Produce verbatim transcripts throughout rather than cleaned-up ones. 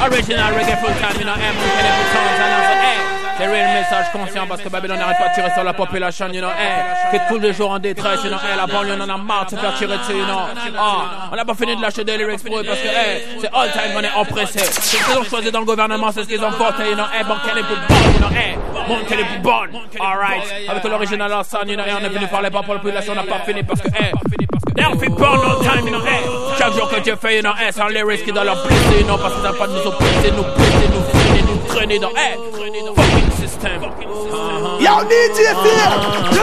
Original reggae full time, you know, M, we can every time, and I say, hey. C'est réel message conscient parce que Babylone n'arrête pas de tirer sur la population, you know, hey, qui est tous les jours en détresse, you know, hey, la banlieue on en a marre de se faire tirer dessus, you know, ah, on n'a pas fini de lâcher des lyrics pour eux parce que, hey, c'est all time on est oppressé, c'est ce qu'ils ont choisi dans le gouvernement, c'est ce qu'ils ont porté, you know, hey, bon, qu'elle est plus bonne, you know, hey, bon, qu'elle est plus bonne, alright, avec l'original ensemble, you know, hey, on est venu parler pas pour la population, on n'a pas fini parce que, hey, they'll be born all time, you know, hey, chaque jour que Dieu fait, you know, hey, c'est un lyrics qui doit leur blesser, you know, parce qu'ils n'ont pas de nous oppresser, nous blesser, nous freiner, nous traîner dans, hey, fucking system. Uh-huh. Yo, D J Fear!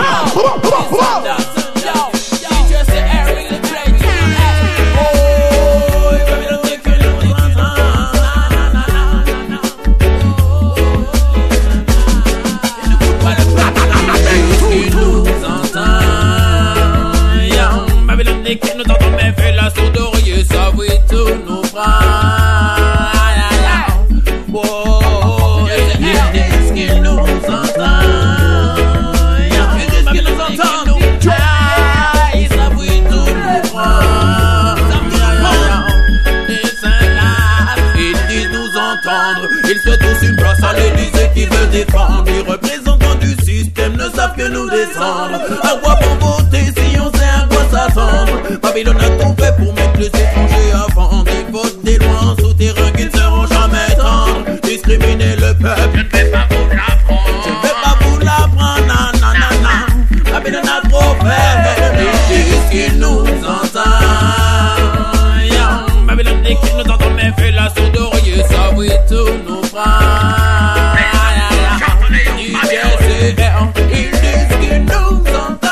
Yo, D J say Eric the play to the oh, baby, don't take it. Nous entend, Babylone dit qu'il nous entend, mais fait la sourde oreille, ça oui, tout nous prend. Ils souhaitent tous une place à l'Élysée qui veut défendre. Les représentants du système ne savent que nous descendre. À quoi bon voter si on sait à quoi s'attendre? Babylone a tout fait pour mettre les étrangers à vendre. Ils votent des lois en souterrain qui ne seront jamais tendres. Discriminer le peuple, je ne vais pas vous l'apprendre. Je ne vais pas vous l'apprendre, nan nan nan nan. Babylone a trop fait, ils disent qu'ils nous entendent. Babylone dit qu'ils nous entendent, mais fait la sourde oreille, ça oui tout nous prend. Ils disent qu'ils nous entendent.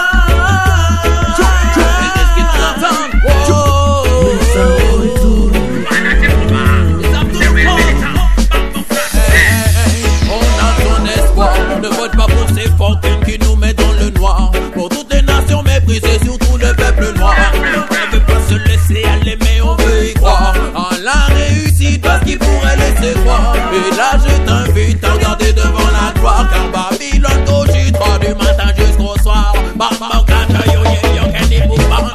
Ils disent qu'ils nous entendent. On a ton espoir. Ne vote pas pour ces fortunes qui nous mettent dans le noir. Pour toutes les nations méprisées, surtout le peuple noir. On ne veut pas se laisser aller, mais on veut y croire. En la réussite parce qu'il pourrait laisser croire. Et là je t'invite à regarder devant la gloire. Car Babylone cogitera du matin jusqu'au soir. Bamba kata yo yo yo keni poupa.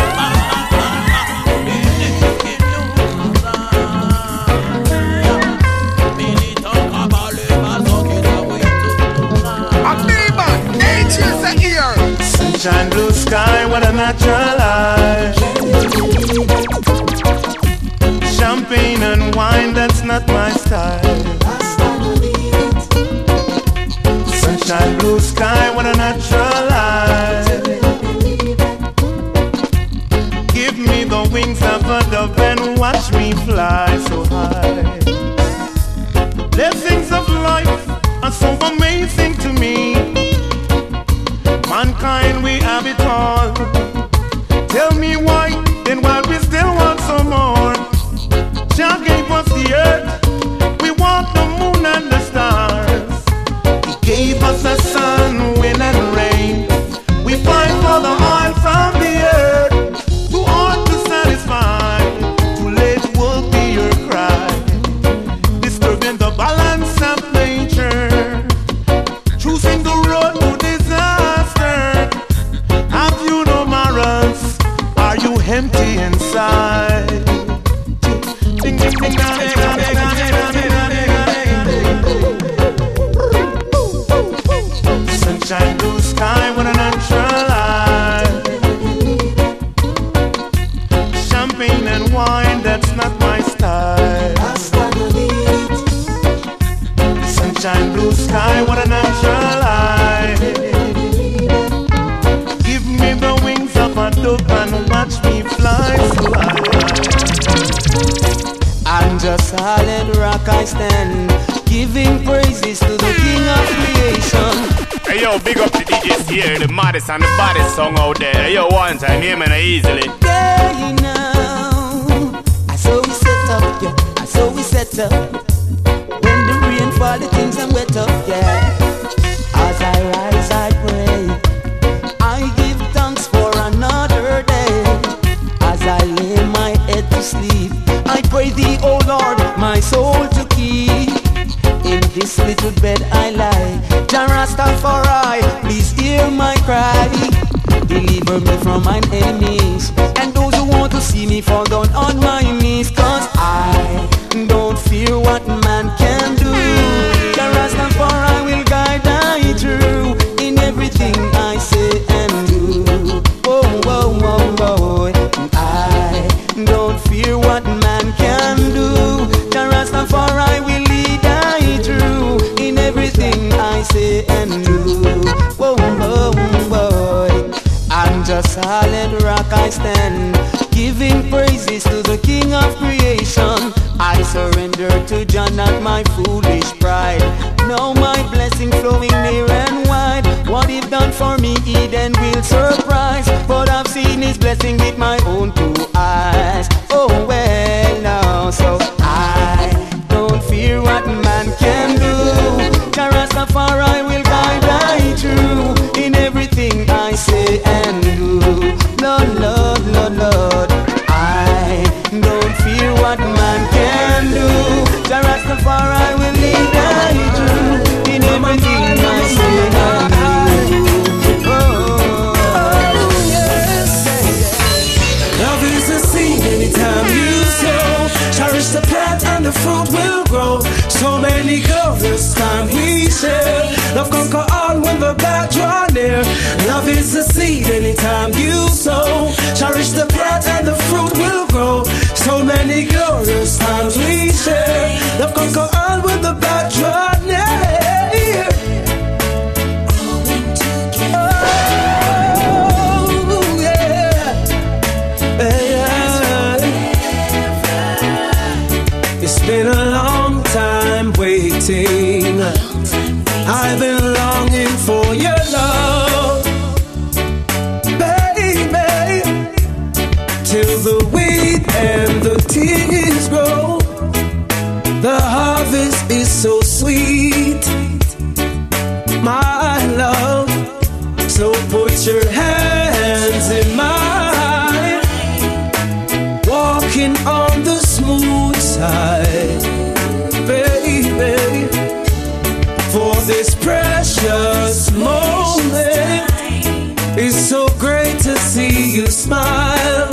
Militant cabale maso qui s'avoue tout. Amoeba, nature's a ear. Sunshine, blue sky, what a natural life. Champagne and wine, that's not my style. Sunshine, blue sky, what a natural life. Give me the wings of a dove and watch me fly so high. Blessings of life are so amazing to me. Mankind, we have it all. Tell me why, then why we still want some more. Jah gave us the earth, we want the moon and the stars. He gave us the sun, wind and rain. We fight for the oil from the earth. Too hard to satisfy, too late will be your cry. Disturbing the balance of nature, choosing the road to disaster. Have you no morals? Are you empty inside? Sunshine, blue sky, what a natural life. Champagne and wine, that's not my style. Sunshine, blue sky, what a natural life. Give me the wings of a dove and watch me fly so high. On just solid rock I stand, giving praises to the King of creation. Hey yo, big up the D Js here, the maddest and the baddest song out there. Hey yo, one time, hear me easily. Yeah, you know, I saw we set up, yeah, I saw we set up. When the rain fall, the things are wet up, yeah. As I rise, I pray, I give thanks for another day. As I lay my head to sleep, I pray thee, oh Lord, my soul to keep. In this little bed I lie, Jah Rastafari, please hear my cry. Deliver me from mine enemies, and those who want to see me fall down on my knees. Cause I don't fear what a solid rock I stand, giving praises to the King of creation. I surrender to Jah, not my foolish pride. Now my blessing flowing near and wide. What He's done for me, Eden will surprise. But I've seen His blessing with my own two eyes. Oh well now, so I don't fear what man can do. Jah Rastafari will guide I through in everything I say and do. Lord, Lord, Lord, Lord, I don't fear what man can do. Jah Rastafari will lead I through in everything I say and do. Oh, oh yes. Love is a seed anytime you sow. Cherish the plant and the fruit will grow. So many glorious times we share. Love conquer all when the bad draw near. Love is a seed anytime you sow. Cherish the plant and the fruit will grow. So many glorious times we share. Love conquer all when the bad draw near. Oh, yeah. Yeah. It's been a long time waiting. I've been longing for your love, baby, till the wheat and the tears grow. The harvest is so sweet, my love. So put your hands in mine, walking on the smooth side, baby. For this precious moment, it's so great to see you smile,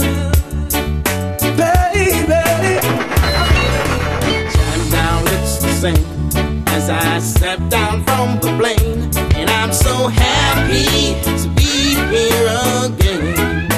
baby. And now it's the same as I step down from the plane, and I'm so happy to be here again.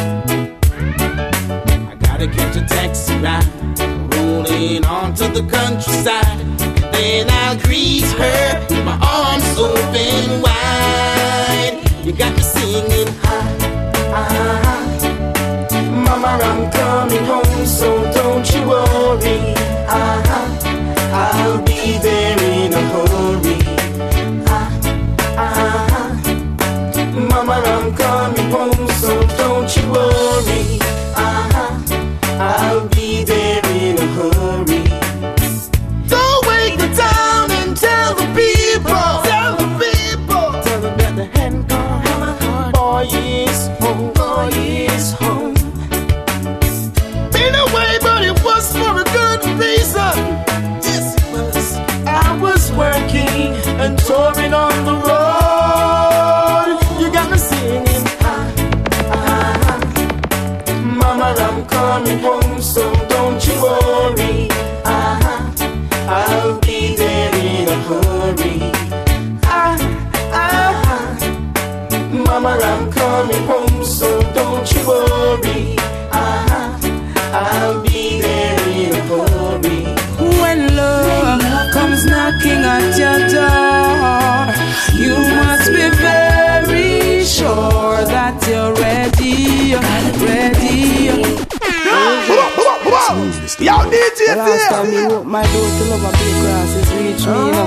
I gotta catch a taxi ride, rolling onto the countryside. Then I'll greet her with my arms open wide. You got me singing high, high. Mama, I'm coming home, so don't you worry. Uh-huh. I'll be there in a hurry. Uh-huh. Mama, I'm coming home, so don't you worry. Uh-huh. I'll be there in a hurry. Tell the people, tell the people, tell them that the hand gone, boy is home, boy is home. Been away, but it was for a good reason. Yes, it was. I was working and touring on the road. You got me singing, ah, ah, ah. Mama, I'm coming home, so don't you worry. Ah, I'll be there in a hurry. Ah, ah, ah. Mama, I'm coming home, so don't you worry. Ah, I'll be there in a hurry. When love comes knocking at your door, you must be very sure that you're ready, ready. Yo, D J, the last time you opened my door to love a big grass is reach me, you know.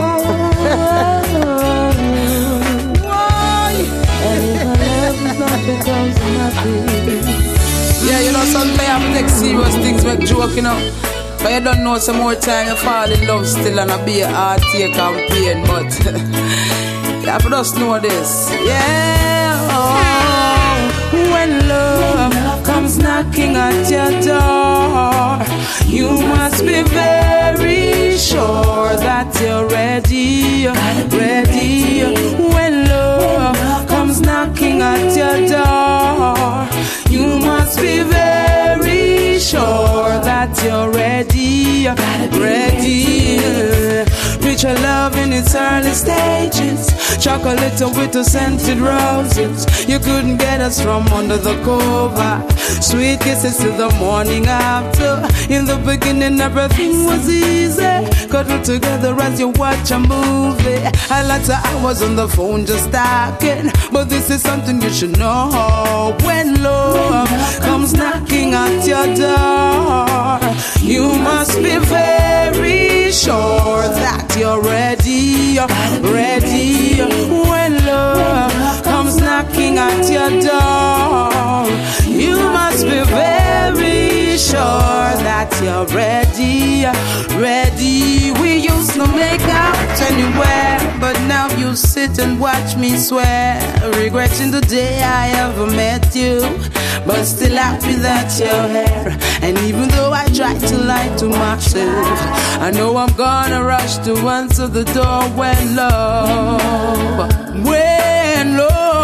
And if I love is not because I'm happy. Yeah, you know, sometimes I have to take serious things, make joke, you know. But you don't know, some more time you fall in love still and I be a heartache and pain. But you have to just know this. Yeah, oh, when love comes knocking at your door, you must be very sure that you're ready, ready. When love comes knocking at your door, you must be very sure that you're ready, ready. With your love in its early stages, chocolate with the scented roses. You couldn't get us from under the cover. Sweet kisses till the morning after. In the beginning everything was easy. Cuddle together as you watch a movie. A lot of hours on the phone just talking. But this is something you should know. When love comes knocking at your door, you must be very sure that you're ready, ready. When love comes knocking at your door, you must be very sure that you're ready, ready. We used to make out anywhere, but now you sit and watch me swear, regretting the day I ever met you, but still happy that you're here. And even though I try to lie to myself, I know I'm gonna rush to answer the door when love, when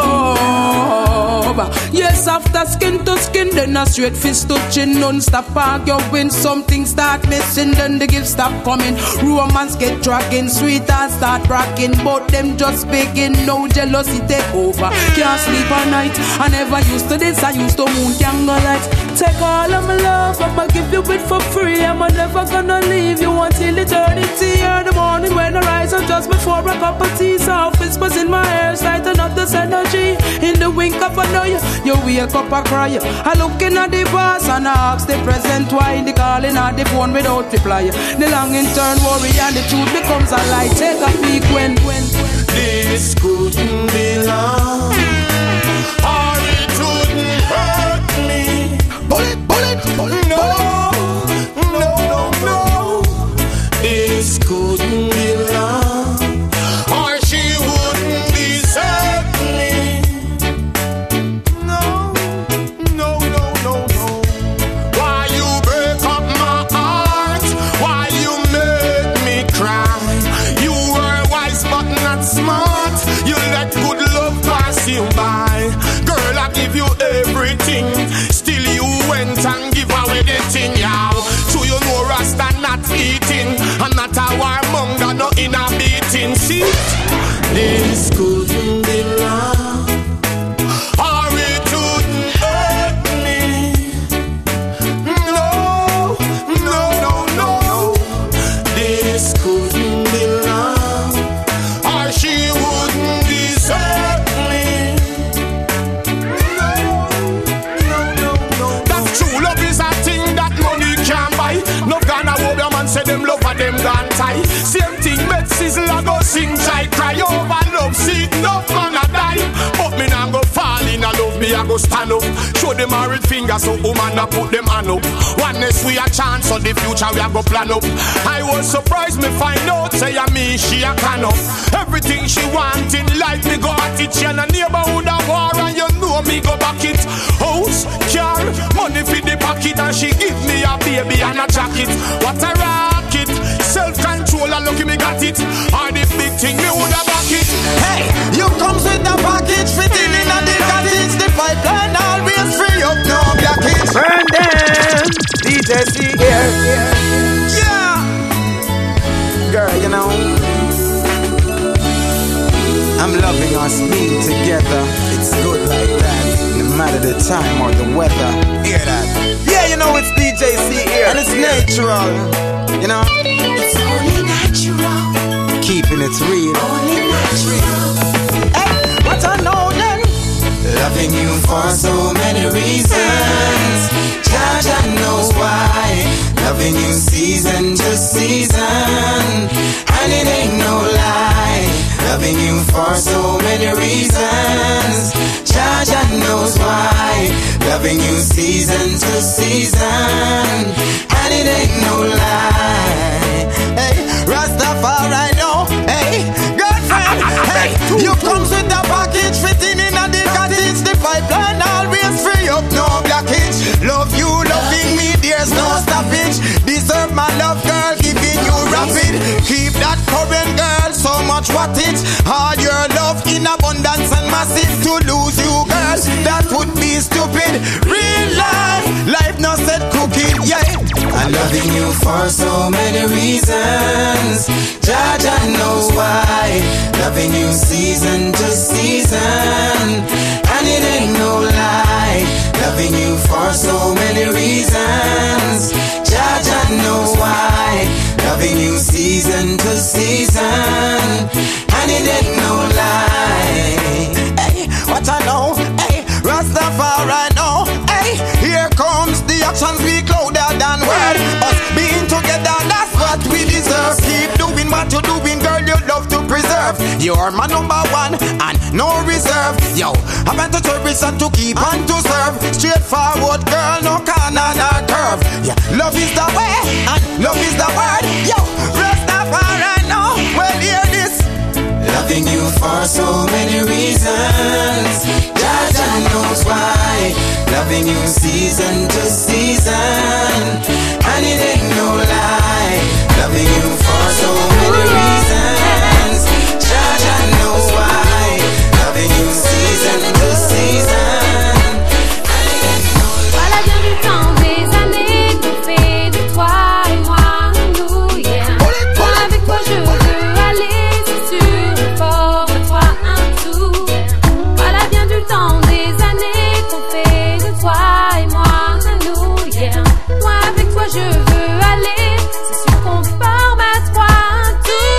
love. Yes, after skin to skin, then a straight fist touching, non-stop arguing. Something start missing, then the gifts stop coming. Romance get dragging, sweetheart start rocking, but them just begin. No jealousy take over. Can't sleep at night. I never used to this. I used to moon candle light. Take all of my love, I'ma give you it for free. I'm never gonna leave you until eternity. Or the morning when I rise up just before a cup of tea. Soft whispers in my ears, lighten up this energy. In the wink of an eye, you wake up and cry. I look in at the boss and I ask the present why the calling at the phone without reply. The long in turn worry and the truth becomes a lie. Take a peek when, when, when. This couldn't be long, or it wouldn't hurt me. Bullet, bullet, bullet, no, no, no, no. This couldn't be long, or she wouldn't desert me. No, no, no, no, no. Why you break up my heart? Why you make me cry? You were wise but not smart. You let good love pass you by. Girl, I give you everything. Still you went and give away the thing, yeah. So you know Rasta not eating, and not a warmonger, no in a beating. See, this couldn't be long, or it wouldn't hurt me. No, no, no, no. This couldn't be long, or she wouldn't desert me. No Ghana Wobia man say them love and them gone tie. Same thing met sizzle I go sing try cry over love. See enough man a die, but me nah go fall in a love. Me I go stand up, show them married fingers so woman a put them hand up. Oneness we a chance so the future we a go plan up. I was surprised me find out say a me she a can up. Everything she want in life me go at it. She and a neighborhood a war and you know me go back it. House, car, money for the pocket and she give me a baby and a jacket. What a rocket, self-control and lucky me got it. Or the big thing me woulda back it. Hey, you comes with the package fitting in and the cottage. The pipeline always free up, no blockage. Burn them, D J C here. Yeah, girl, you know I'm loving us being together. It's good like that, no matter the time or the weather. Hear that? Yeah, you know it's D J C here, and it's natural. You know, it's only natural. Keeping it real, only natural. Hey, what I know then? Loving you for so many reasons. Jah Jah knows why. Loving you season to season, and it ain't no lie. Loving you for so many reasons. Jah Jah knows why. Loving you season to season, and it ain't no lie. Hey, Rastafari, no. Hey, girlfriend. Hey, you comes with the package fitting in a the cottage. The pipeline always free up, no blockage. Love you, loving me, there's no stoppage. Deserve my love, girl, giving you rapid. Keep that current, girl, so much wattage. All your love in abundance and massive. To lose you, girl, that would be stupid. Real life, life not said cooking, yeah. I'm loving you for so many reasons. Jah Jah loving you season to season, and it ain't no lie, loving you for so many reasons. Jah Jah knows why, loving you season to season, and it ain't no lie. Hey, what I know, hey, Rastafari know, hey, here comes the actions speak louder than word. Us being together, that's what we deserve. Keep doing what you're doing, girl, you love to preserve. You're my number one and no reserve. Yo, I went to service and to keep and to serve. Straightforward, girl, no corner, no curve. Yeah, love is the way and love is the word. Yo, Rastafari know, well, hear this. Loving you for so many reasons. Jah Jah knows why, loving you season to season, and it ain't no lie, loving you for so many reasons. Jah Jah knows why, loving you season to season, and it ain't no lie. Voilà bien du temps, des années qu'on fait de toi et moi, nous, yeah. Moi avec toi je veux aller, c'est sûr, fort de toi un tout. Voilà bien du temps, des années qu'on fait de toi et moi, nous, yeah. Moi avec toi je veux aller, c'est sûr qu'on forme à trois un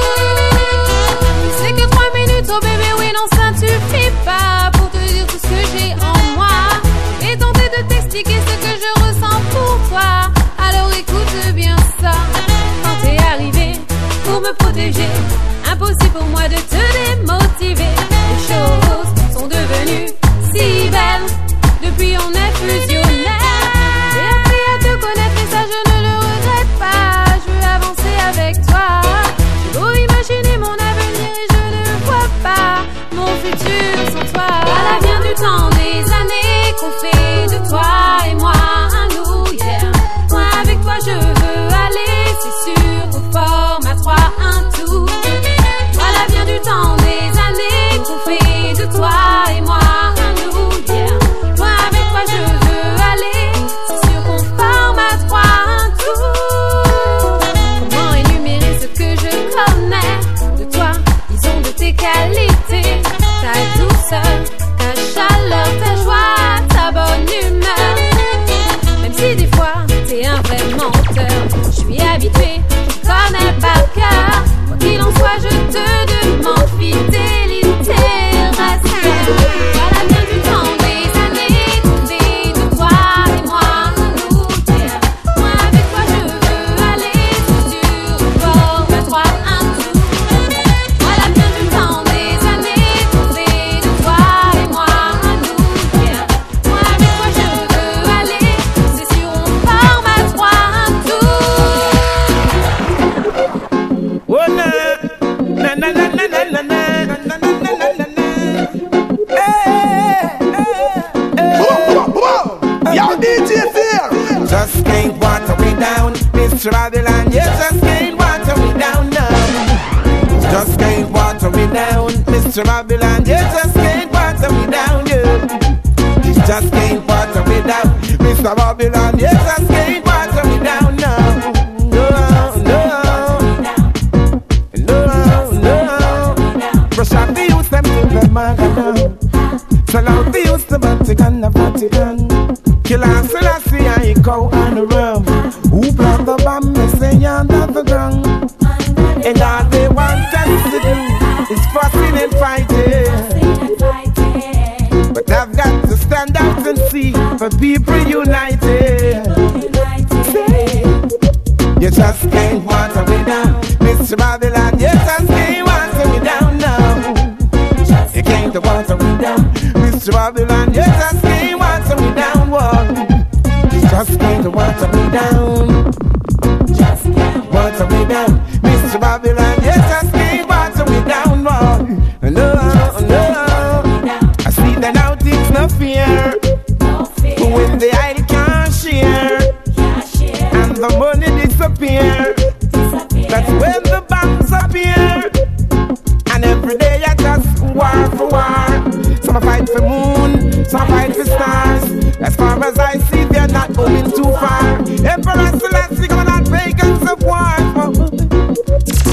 tout. C'est que trois minutes, oh bébé, oui non ça ne suffit pas pour te dire tout ce que j'ai en moi et tenter de t'expliquer ce que je ressens pour toi. Alors écoute bien ça. Quand t'es arrivé pour me protéger, impossible pour moi de te démotiver. Les choses sont devenues si belles depuis on est fusionnels. J'ai appris à te connaître et ça je ne le regrette pas. Je veux avancer avec toi. J'ai beau imaginer mon avenir et je ne vois pas mon futur sans toi. Voilà bien du temps, des années qu'on fait de toi et moi un nous, yeah. Moi avec toi je veux aller, c'est sûr, qu'on forme à trois un tout. Voilà bien du temps, des années qu'on fait de toi et moi un nous, yeah. Moi avec toi je veux aller, c'est sûr qu'on forme à trois un tout. Comment énumérer ce que je connais de toi, disons de tes qualités, ta douceur, ta chaleur, ta joie, ta bonne humeur. Même si des fois t'es un vrai menteur, je suis habituée, je connais par cœur. Quoi qu'il en soit, je te demande fidélité, respect. Voilà bien du temps, des années qu'on fait de toi et moi, nous, yeah. Moi avec toi je veux aller, c'est sûr, fort, à trois un tout. Voilà bien du temps, des années qu'on fait de toi et moi, nous, yeah. Moi avec toi je veux aller, c'est sûr, on forme à trois un tout. Oh na na na na na na na na na na na na. Hey, hey, hey. Yo, D J here. Just can't water me down, Mister Babylon. You just can't water me down now. Just can't water me down, Mister Babylon. You just can't water me down, yeah. You just can't water me down, Mister Babylon. You just can't water me down now. No, no, no, no. Brush up the youth them to the maga. Sell out the youth the Vatican, the Vatican. Kill and Selassie and go on the rum. Who plant the bomb, they say under the ground. And all they want us to do is fussing and fighting. But I've got to stand up and see for people united. You just can't water me down, Mister Babylon. You just can't water me down now. You can't water me down, Mister Babylon. You just can't water me down, whoa. Just can't water me down. Just can't water me down, Mister Babylon. You just can't water me down, whoa. No, no. I see that now things no fear. When the idol can't share and the money disappear, that's when the banks appear. And every day I just war for war. Some fight for moon, some fight for stars. As far as I see, they're not going too far. Emperor Selassie, come on, pagans of war.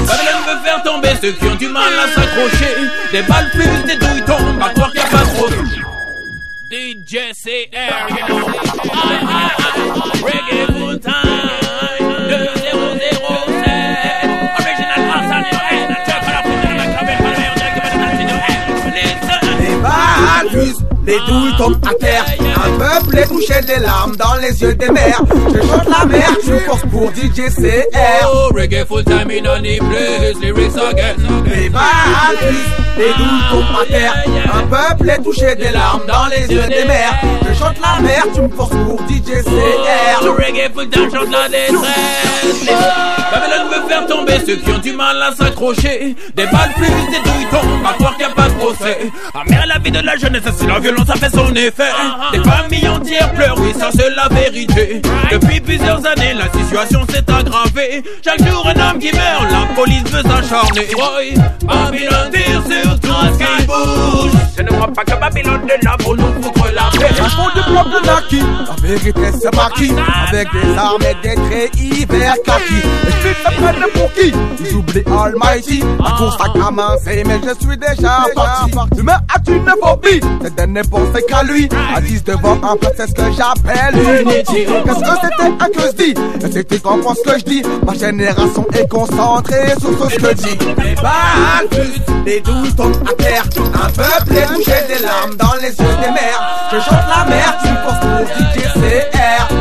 veut faire tomber ceux qui ont du mal à s'accrocher. Des balles fusent, des douilles tombent, à croire qu'il n'y a pas trop. D J C R, you know. I, I, I, reggae full time. deux zéro zéro sept. Original Hassan, you know. And I check on a foot in the cabin, but I don't check it, but I don't see no. Les balles fusent, les douilles tombent à terre. Un peuple est touché des larmes dans les yeux des mères. Je chante la mer, je force pour D J C R. Oh, reggae full time in any place, lyrics again. Les balles fusent, les douilles tombent à terre. Un peuple est touché des larmes dans les yeux des mères. Je chante la mer, tu me forces pour D J C R. Le reggae full time chante la détresse. Babylone veut faire tomber ceux qui ont du mal à s'accrocher. Des balles fusent, des douilles tombent, à croire qu'il n'y a pas de procès. Amère la vie de la jeunesse, si la violence a fait son effet. Des familles entières pleurent, oui ça c'est la vérité. Depuis plusieurs années la situation s'est aggravée. Chaque jour un homme qui meurt, la police veut s'acharner. Oui, Babylone tire sur tout ce qui bouge. Je ne crois pas que Babylone est là pour nous foutre la paix. Un fond de bloc de Naki, la vérité c'est maquis. Avec des armes et des traits hiver kaki. Et je suis prennent pour qui? Ils oublient Almighty. La course à commencer mais je suis déjà parti. Demain as-tu une phobie? C'est de ne penser qu'à lui. Assise devant un peuple, c'est ce que j'appelle unity. Qu'est-ce que c'était un que je dis? Et c'était comprends ce que je dis. Ma génération est concentrée sur ce que je dis. Les balles fusent, les douilles tombent à terre. Un peuple est touché des larmes dans les yeux des mères. Je chante la mer, tu me forces pour D J C R.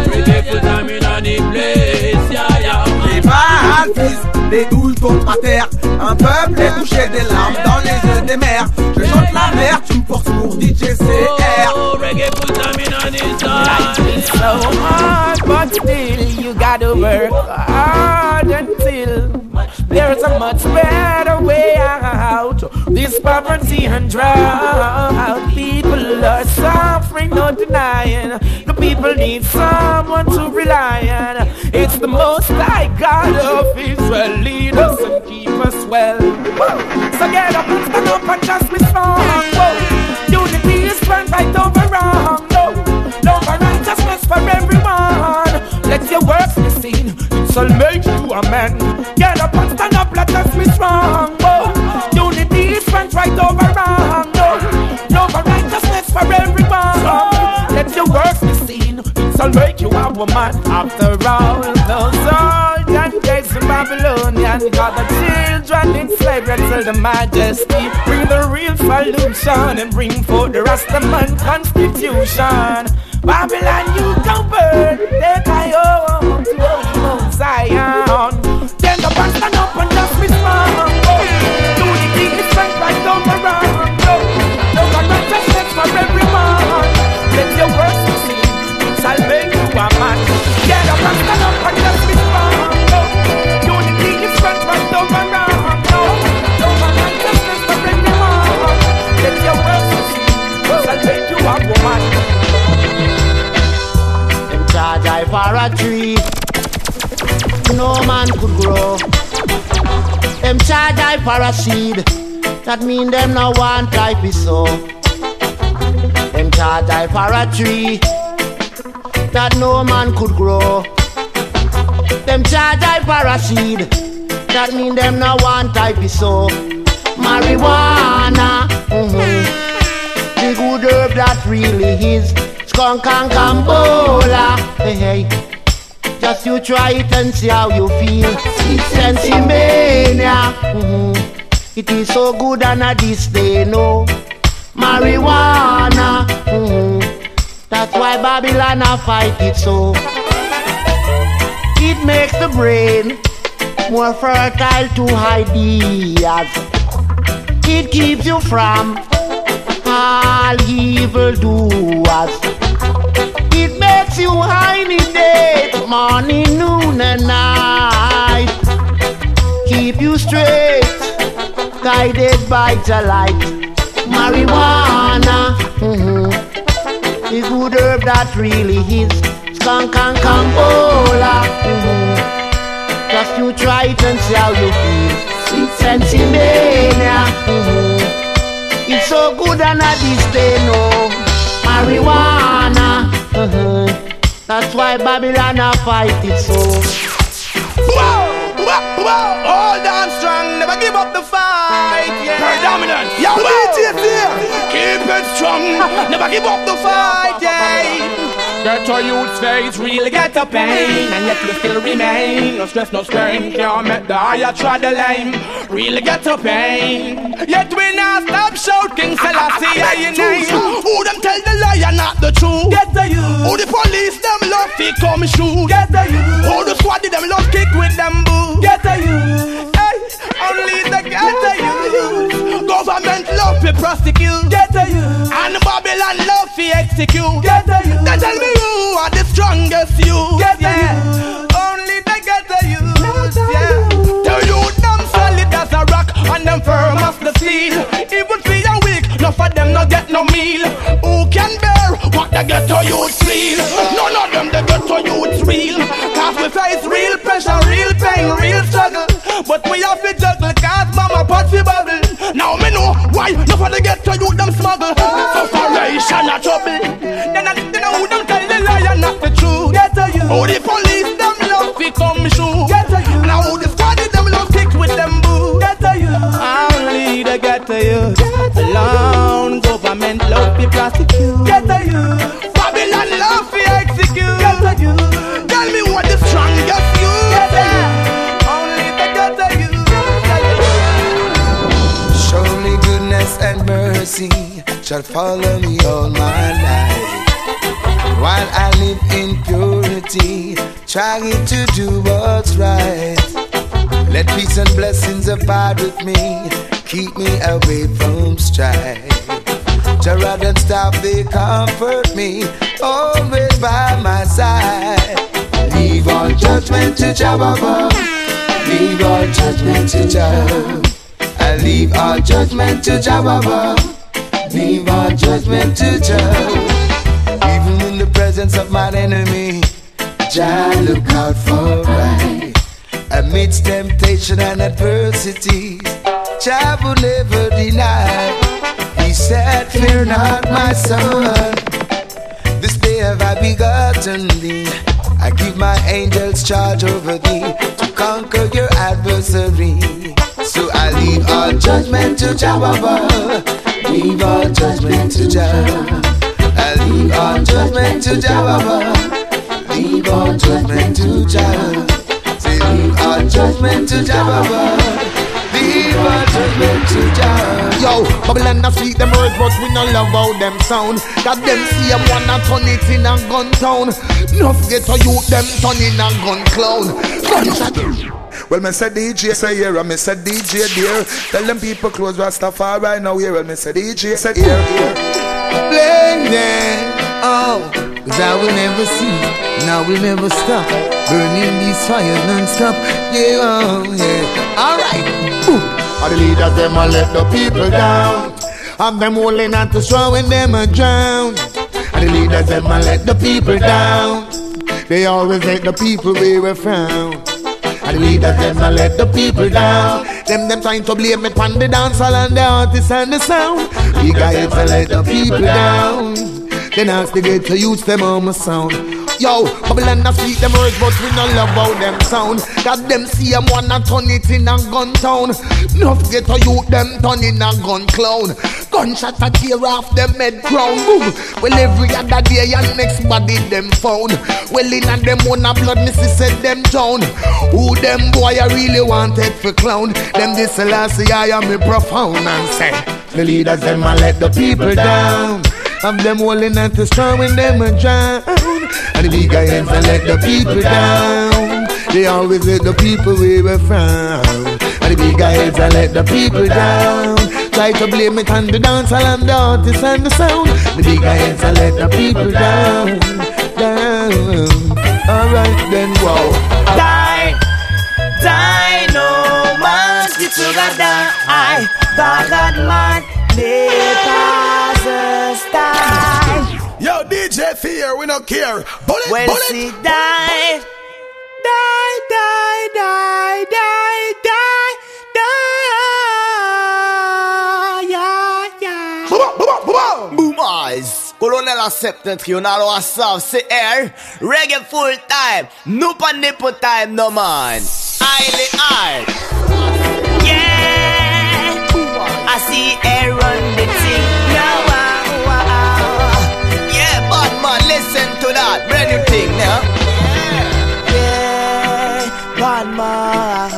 Les balles fusent, les douilles tombent à terre. Un peuple est touché des larmes dans les yeux des mères. Je chante la mer, tu me forces pour D J C R. Oh, reggae full time in on this Life is so hard, but still you gotta work hard until there's a much better way out. This poverty and drought, people are suffering, no denying. The people need someone to rely on. It's the Most High God of Israel, lead us and keep us well. So get up and stand up and just be strong. Whoa. Unity is strength right over wrong. No, love and righteousness for everyone. Let your works be seen, it shall make you a man. Get up and stand up, let us be strong. Whoa. Unity is strength right over wrong. No, love and righteousness for everyone. Let your works be seen, it shall make you a woman. After all, those old and days in Babylonian got the children in slavery till the majesty bring the real solution and bring forth the Rastaman constitution. Babylon, you can burn, take I home to Holy Mount Zion. Stand up and stand up and just be strong. Unity is strength right over wrong. Love and righteousness for everyone. Let your works be seen, it shall make you a man. Get up and stand up and just be strong. Unity is strength right over wrong. Love and righteousness for everyone. Let your works be seen, it shall make you a woman. Them charge I for a tree, no man could grow. Them charge I for a seed, that mean them no one type is so. Them charge I for a tree, that no man could grow. Them charge I for a seed, that mean them no one type is so. Marijuana, mm-hmm. The good herb that really is. Skunk and Cambola, hey hey. Just you try it and see how you feel. It's Sensimania, mm-hmm. It is so good and at this day no. Marijuana, mm-hmm. That's why Babylon a fight it so. It makes the brain more fertile to ideas. It keeps you from all evil doers. It makes you high in day, morning, noon and night. Keep you straight, guided by the light. Marijuana, mm-hmm. The good herb that really is. Skunk and Cambola, mm-hmm. Just you try it and see how you feel. It's Sensimania, mm-hmm. It's so good and at this day no. Marijuana, mm-hmm. That's why Babylon a fight it so. Whoa, whoa, whoa. Hold on strong, never give up the fight, yeah. Predominant. Yo, D J here. Keep it strong. Never give up the fight, yeah. Get a youth's face, really get a pain. And yet you still remain. No stress, no strain. Can't make the higher try the lane. Really get a pain. Yet we not stop shouting Selassie I your name. Who them tell the liar, not the truth? Get the youth. Who the police them love to come shoot? Get the youth. Who the squad them love kick with them boo? Get the youth. Hey, only the get the youth. Government love to prosecute. Get the youth. And Babylon love to execute. Get the youth. They tell me you are the strongest youth. Get the yeah. youth. Only the get the youth. Yeah. The youth them solid as a rock and them firm as the steel. Even free and weak, no for them no get no meal. Who can bear what the ghetto youth feel? None of them the ghetto youth real. Cause we face real pressure, real pain, real struggle. But we have to juggle cause mama pot fi bubble. Now me know why no for the ghetto youth them smuggle. Sufferation a trouble. Then I then I who them tell the liar not the truth. Ghetto youth. Who the police them love fi come shoot. Ghetto youth. Now who the squad them love kick with them boo. Ghetto youth. Only the ghetto youth. Alone government love fi prosecute. Ghetto youth. Babylon love fi execute. Ghetto youth. Tell me what the strongest youth. Ghetto youth. Only the ghetto youth. Surely goodness and mercy shall follow me all my life. While I live in purity, trying to do what's right. Let peace and blessings abide with me, keep me away from strife. Gerard and staff, they comfort me, always by my side. Leave all judgment to Jehovah, leave all judgment to Jehovah. I leave all judgment to Jehovah, leave all judgment to Jehovah. Even in the presence of my enemy, Jah look out for right. Amidst temptation and adversity, Jah will never deny. He said, fear not my son, this day have I begotten thee. I give my angels charge over thee, to conquer your adversary. So I leave all judgment to Jehovah, leave all judgment to Jah. I leave all judgment to Jehovah, leave all judgment to Jah. Say leave all judgment to Jehovah, leave all judgment to Jah. Yo, Babylon a speak them words, but we no love how them sound. Cause them see them wanna turn it in a gun town. No forget to youth them turn in a gun clown. Gunshot. Well, me say D J say here, and me say D J there. Tell them people close Rastafari right now here. Well, me say D J say here, here. Blame them, oh, cause I will never see, and I will never stop burning these fires non-stop. Yeah, oh, yeah, alright. All the leaders, them a let the people down, and them holding on to straw when them a drown. And the leaders, them a let the people down, they always let the people where we found. And the leaders, them a let the people down, them them trying to blame it on the dancehall and the artists and the sound. We got it to let the people down, then ask the get to use them on my sound. Yo, Babylon a speak them words, but we no love how them sound. Cause them see them wanna turn it in a gun town. No forget to youth them turn in a gun clown. Gunshot a tear off them head crown. Boom. Well every other day and next body them found. Well in a them own a blood missy said them down. Who them boy I really wanted for clown. Them this last year I am me profound and say the leaders them a let the people down. Have them holding on to strong when them a drown. And the big guys a let the people down. They always let the people where we from. And the big guys a let the people down. Try to blame it on the dancehall and the artists and the sound. The big guys a let the people down, down. Alright then, wow. Die, die, no man's get together. I, bad man, they pass us die. Yo, D J Fear, we don't care. Bullet, well, bullet. See, die, die, die, die, die, die, die, yeah, yeah. Boom, boom, boom, boom, eyes. Colonel a septentrion, alo a sav, se air. Reggae full time, nupa nipple time, no man. Highly hard. Yeah. doing your thing now. Yeah, bad man.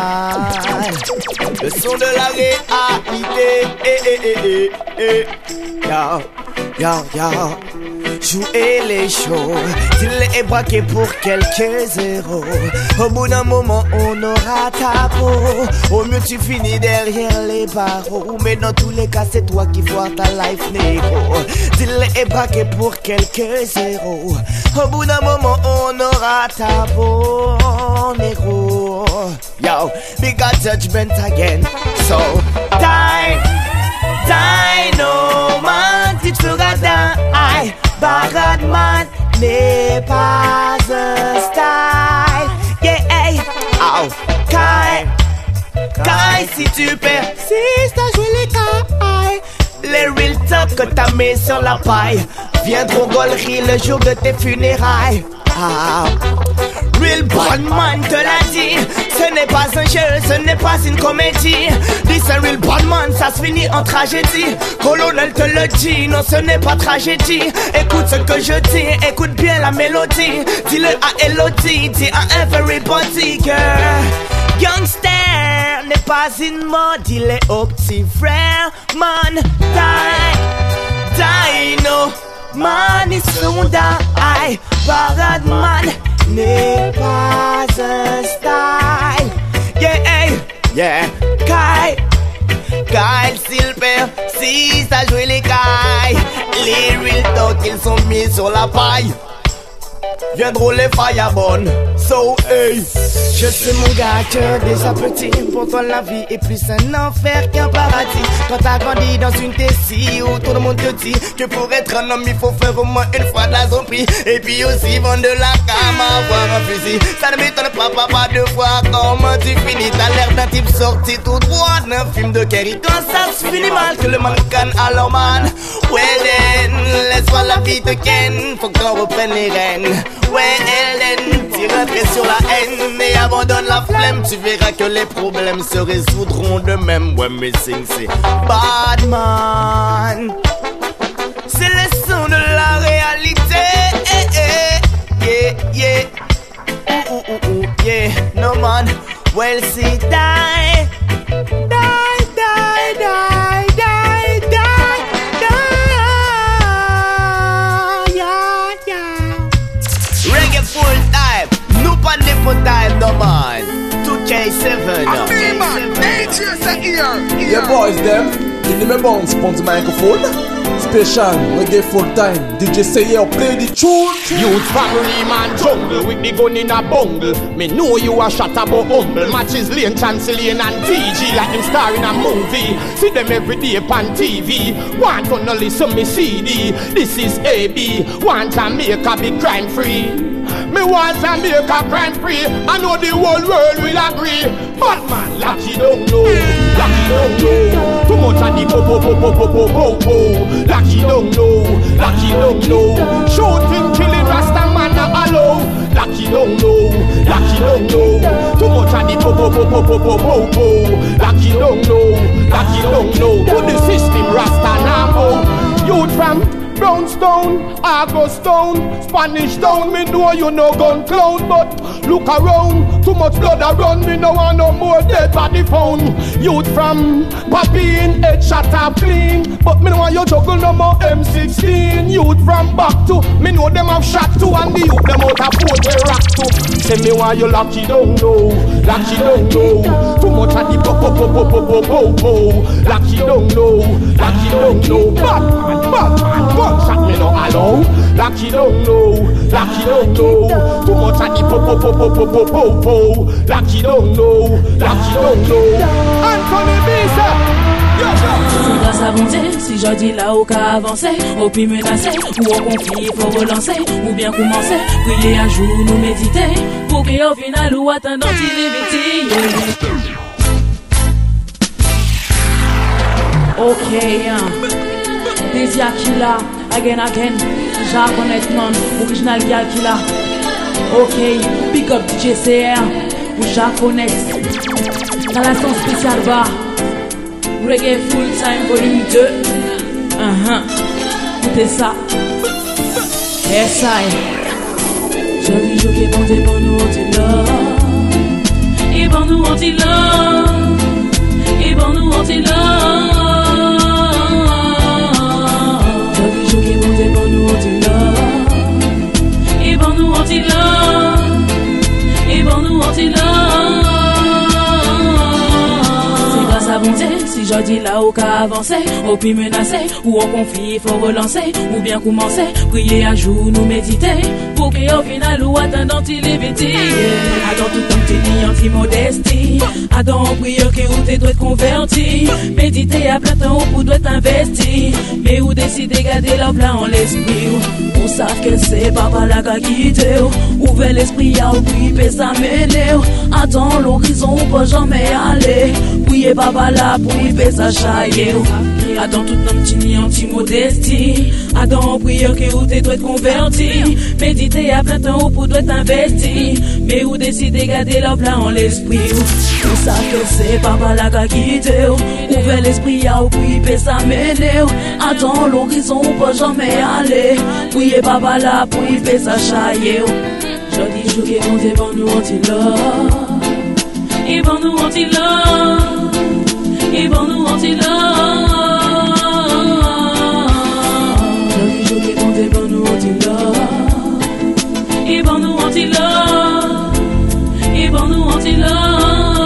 Le son de la réalité. Eh, eh, eh, eh, eh. Yo, yo, yo. Jouer les shows, dis-les et braquer pour quelques zéros. Au bout d'un moment, on aura ta peau. Au mieux, tu finis derrière les barreaux. Mais dans tous les cas, c'est toi qui vois ta life négro. Dis-les et braquer pour quelques zéros. Au bout d'un moment, on aura ta peau, négro. Yo, big got judgment again. So, die, die, no man, tu te feras die. Baradman n'est pas un style. Yeah, hey, oh, Kai, Kai, si tu persistes à jouer les cailles, les real talk que t'as mis sur la paille viendront gaulerie le jour de tes funérailles. Ah, real bad man te l'a dit, ce n'est pas un jeu, ce n'est pas une comédie. Dis un real bad man, ça se finit en tragédie. Colonel te le dit, non ce n'est pas tragédie. Écoute ce que je dis, écoute bien la mélodie. Dis-le à Elodie, dis à everybody girl. Youngster n'est pas une mode, dis-le au petit frère. Man, die, die, no. Man is soon die. Parade man n'est pas un style. Yeah, hey, yeah. Kai, Kyle Silver, si ça joue les cailles. Les real talk ils sont mis sur la paille. Viendront les fireborn. So hey, je suis mon gars cœur déjà petit. Pour toi la vie est plus un enfer qu'un paradis. Quand t'as grandi dans une tessie où tout le monde te dit que pour être un homme il faut faire au moins une fois de la zombie. Et puis aussi vendre de la cam, avoir un fusil. Ça ne m'étonne pas papa de voir comment tu finis. T'as l'air d'un type sorti tout droit d'un film de Kerry. Quand ça se finit mal que le mannequin alors man. Ouais then, laisse-moi la vie de Ken. Faut qu'on reprenne les rênes. Ouais Hélène, tire sur la haine et abandonne la flemme. Tu verras que les problèmes se résoudront de même. Ouais mais sing c'est Badman. C'est le son de la réalité. Eh, eh. Yeah, yeah. Ooh, ooh, ooh, ooh. Yeah, no man. Well see die. Die, die, die, die, die, die. Yeah, yeah. Reggae full time. Nous pas de full time, no man. two K seven. I'm me man, eight years a year. Yeah boys them, give me my bounce upon the microphone. Special, reggae full time. D J say yeah, play the tune. Youth family man jungle with the gun in a bungle. Me know you a shot about humble. Matches Lane, Chancellian and T G like them star in a movie. See them every day upon T V. Want to no listen me C D. This is A B. Want Jamaica be crime free. Me want Jamaica crime free. I know the whole world will agree. But man, Lucky don't know. Lucky don't know. Too much of the po po po po po po po po. Lucky don't know. Lucky don't know. Shooting, killing, Rasta man not allow. Lucky don't know. Lucky don't know. Too much of the po po po po po po po po. Lucky don't know. Lucky don't know. To the system, Rasta now. Youth from Brownstone, Argostone, Spanish Town. Me know you no gun clown, but look around. Too much blood a run. Me no want no more dead body found. Youth from Papine, head shot up clean, but me no want you juggle no more M sixteen. Youth from back to me know them have shot to, and the youth them out of four they rock to. Say me why you lucky don't know, lucky don't know. Too much of the po po po po po po po po. Lucky don't know, lucky don't know. Bad man, bad man. Gunshot me no allow. Lucky don't know, lucky don't know. Too much of the po po po po po po po po. Lucky don't know, lucky don't know. Anthony Bisa. C'est grâce à bonté, si je dis là où qu'à avancer, au puis menacer, ou au conflit, faut relancer, ou bien commencer, prier un jour, nous méditer, pour qu'au final, ou attendant, il évite. Ok, hein. Désir qui l'a, again, again, j'ai connaître non, original gal qui l'a. Ok, pick up D J C R, ou j'ai connaître. Dans la son spéciale bar. Reggae full time volume deux. Uh-huh. Écoutez ça. S I Joli jour qui bon Dieu pour nous anti-love. Et pour nous anti-love. Et pour nous anti-love. Joli jour qui bon Dieu pour nous anti-love. Et pour nous anti-love. Et pour nous anti-love. C'est grâce à bon Dieu. Si je dis là, au cas avancer, au puis menacer, ou au conflit, faut relancer, ou bien commencer, prier à jour, nous méditer, pour qu'au final, ou attendant, il est vêtu. Attends tout temps, t'es ni anti-modestie, attends, prière que ou t'es doit être converti, méditer à plein temps, ou doit être investi, mais ou décider garder la plan en l'esprit, ou savent que c'est papa la qu'a quitté, ouvert l'esprit à ou puis ça mener, attends l'horizon, ou pas jamais aller, prier papa là, pour ça chaille. Attends tout nom tini anti-modestie. Attends prière que ou t'es doit être converti. Méditer à plein temps ou pour doit être investi. Mais ou décider garder leur plan en l'esprit. Ou ça que c'est papa la qu'a quitté. Ouvert l'esprit à ou puis ça mener. Attends l'horizon ou pas jamais aller. Priez papa là pour ça chaille. Jodi jour qui bon Dieu pour nous anti-love. Et pour nous anti-love. Et pour nous anti-love. Joli jour qui bon Dieu pour nous anti-love. Et pour nous anti-love. Et pour nous anti-love.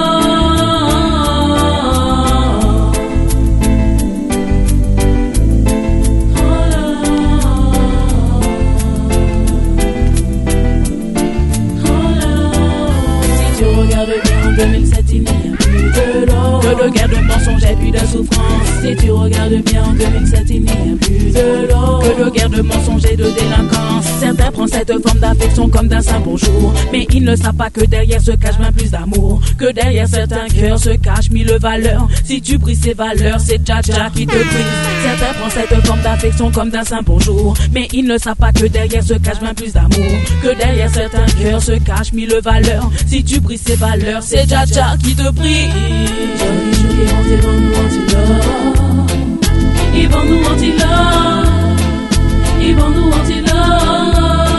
Si tu regardes bien en deux mille sept, il n'y a plus de l'or. Que de guerre, de mensonges et puis de souffrance. Si tu regardes bien en deux mille sept, il n'y a plus de l'or. Que de guerre, de mensonges et de délinquance. Certains prennent cette forme d'affection comme d'un saint bonjour. Mais ils ne savent pas que derrière se cache bien plus d'amour. Que derrière certains cœurs se cachent mille valeurs. Si tu brises ces valeurs, c'est Dja-Dja qui te brise. Certains prennent cette forme d'affection comme d'un saint bonjour. Mais ils ne savent pas que derrière se cache bien plus d'amour. Que derrière certains cœurs se cachent mille valeurs. Si tu brises ces valeurs, c'est Dja-Dja qui te brise. Joli jour qui bon Dieu pour nous anti-love. Ils vont nous anti-love. Ils vont nous anti-love.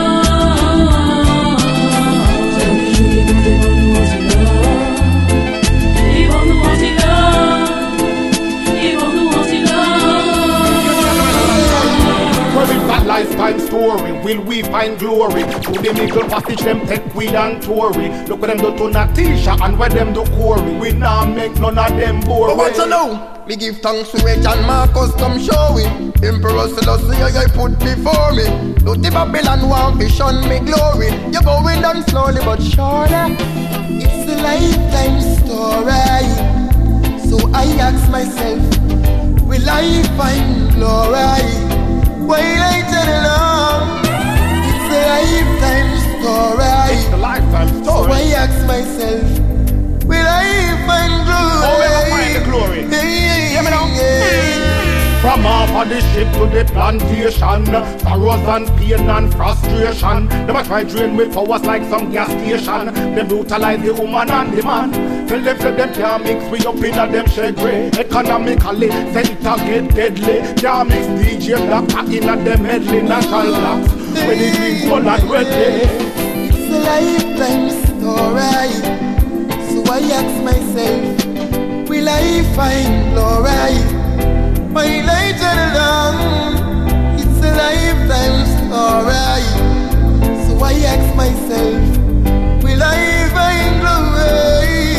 Joli jour qui bon Dieu pour nous anti-love. Ils vont nous anti-love. Ils vont nous anti-love. Where is that lifetime story? Will we find glory? To the middle passage, them take weed and Tory. Look what them do to Natisha and where them do Corey. We now make none of them boring. But what you know? Me give thanks to Reg and Marcus come showing. Emperor Selassie I put before me. Do the Babylon want to shun me glory. You're going down slowly but surely. It's a lifetime story. So I ask myself, will I find glory? While I tell along, it's a lifetime story. It's a lifetime story. So I ask myself, will I find glory? Oh, will I find the glory? Hey, hear me now? yeah. From off of the ship to the plantation, sorrows and pain and frustration. Them a try drain with powers like some gas station. Them brutalize the woman and the man. Tell them that them can't mix we up in a them shade grey. Economically, center get deadly. Can't mix D J Black in a them medley national blocks. When the green, gold and red day. It's a lifetime story. So I ask myself, will I find glory? My life along, it's a lifetime story. So I ask myself, will I find glory?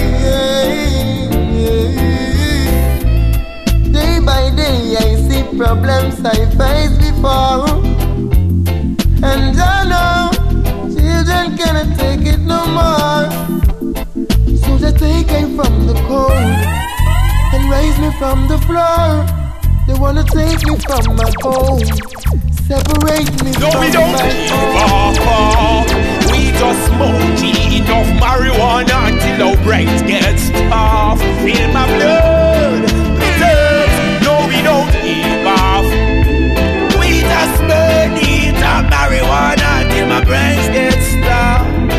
Day by day I see problems I faced before, and I know children cannot take it no more. So they take me from the cold and raise me from the floor. They wanna take me from my home, separate me no, from we don't my give up. We just smoke enough marijuana until our brains get stuffed. Feel my blood, bleed. No, we don't give up. We just smoke enough marijuana until my brains get stuffed.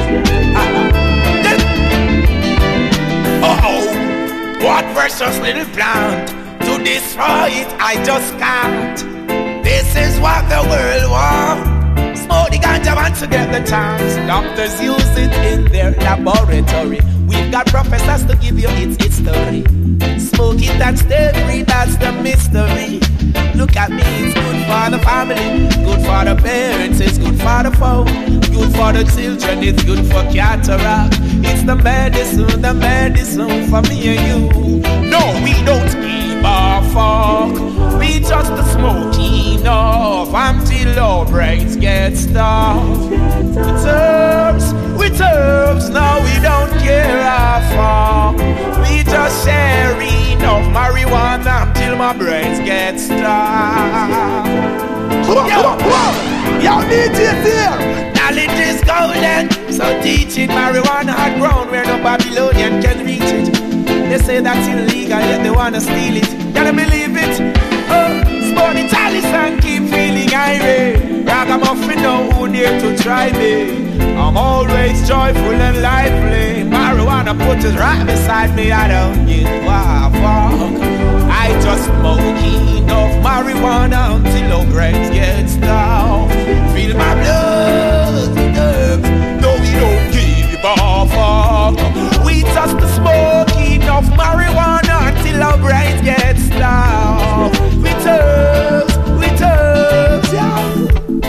Oh, what precious little plant. To destroy it, I just can't. This is what the world wants. Smoke the ganja want to get the chance. Doctors use it in their laboratory. We've got professors to give you its history. Smoke it and stay free, that's the mystery. Look at me, it's good for the family, good for the parents, it's good for the folk, good for the children, it's good for cataract. It's the medicine, the medicine for me and you. No, we don't give a fuck. We just smoke enough until our brains get stuffed. With herbs, with herbs, no, we don't care a fuck. We just share enough marijuana until my brains get stuffed. Yo, yo, D J here. Knowledge is golden, so teaching marijuana had grown where no Babylonian can reach it. They say that's illegal, yet they wanna steal it. Can you believe it? Oh, sport the chalice and keep feeling irate. Ragamuffin know who dare to try me. I'm always joyful and lively. Marijuana put it right beside me. I don't give a fuck. I just smoke enough marijuana until our brains get stuffed. Feel my blood, nerves. No, we don't give a fuck. We just smoke enough marijuana until our brains get stuffed. With herbs, with herbs, yeah.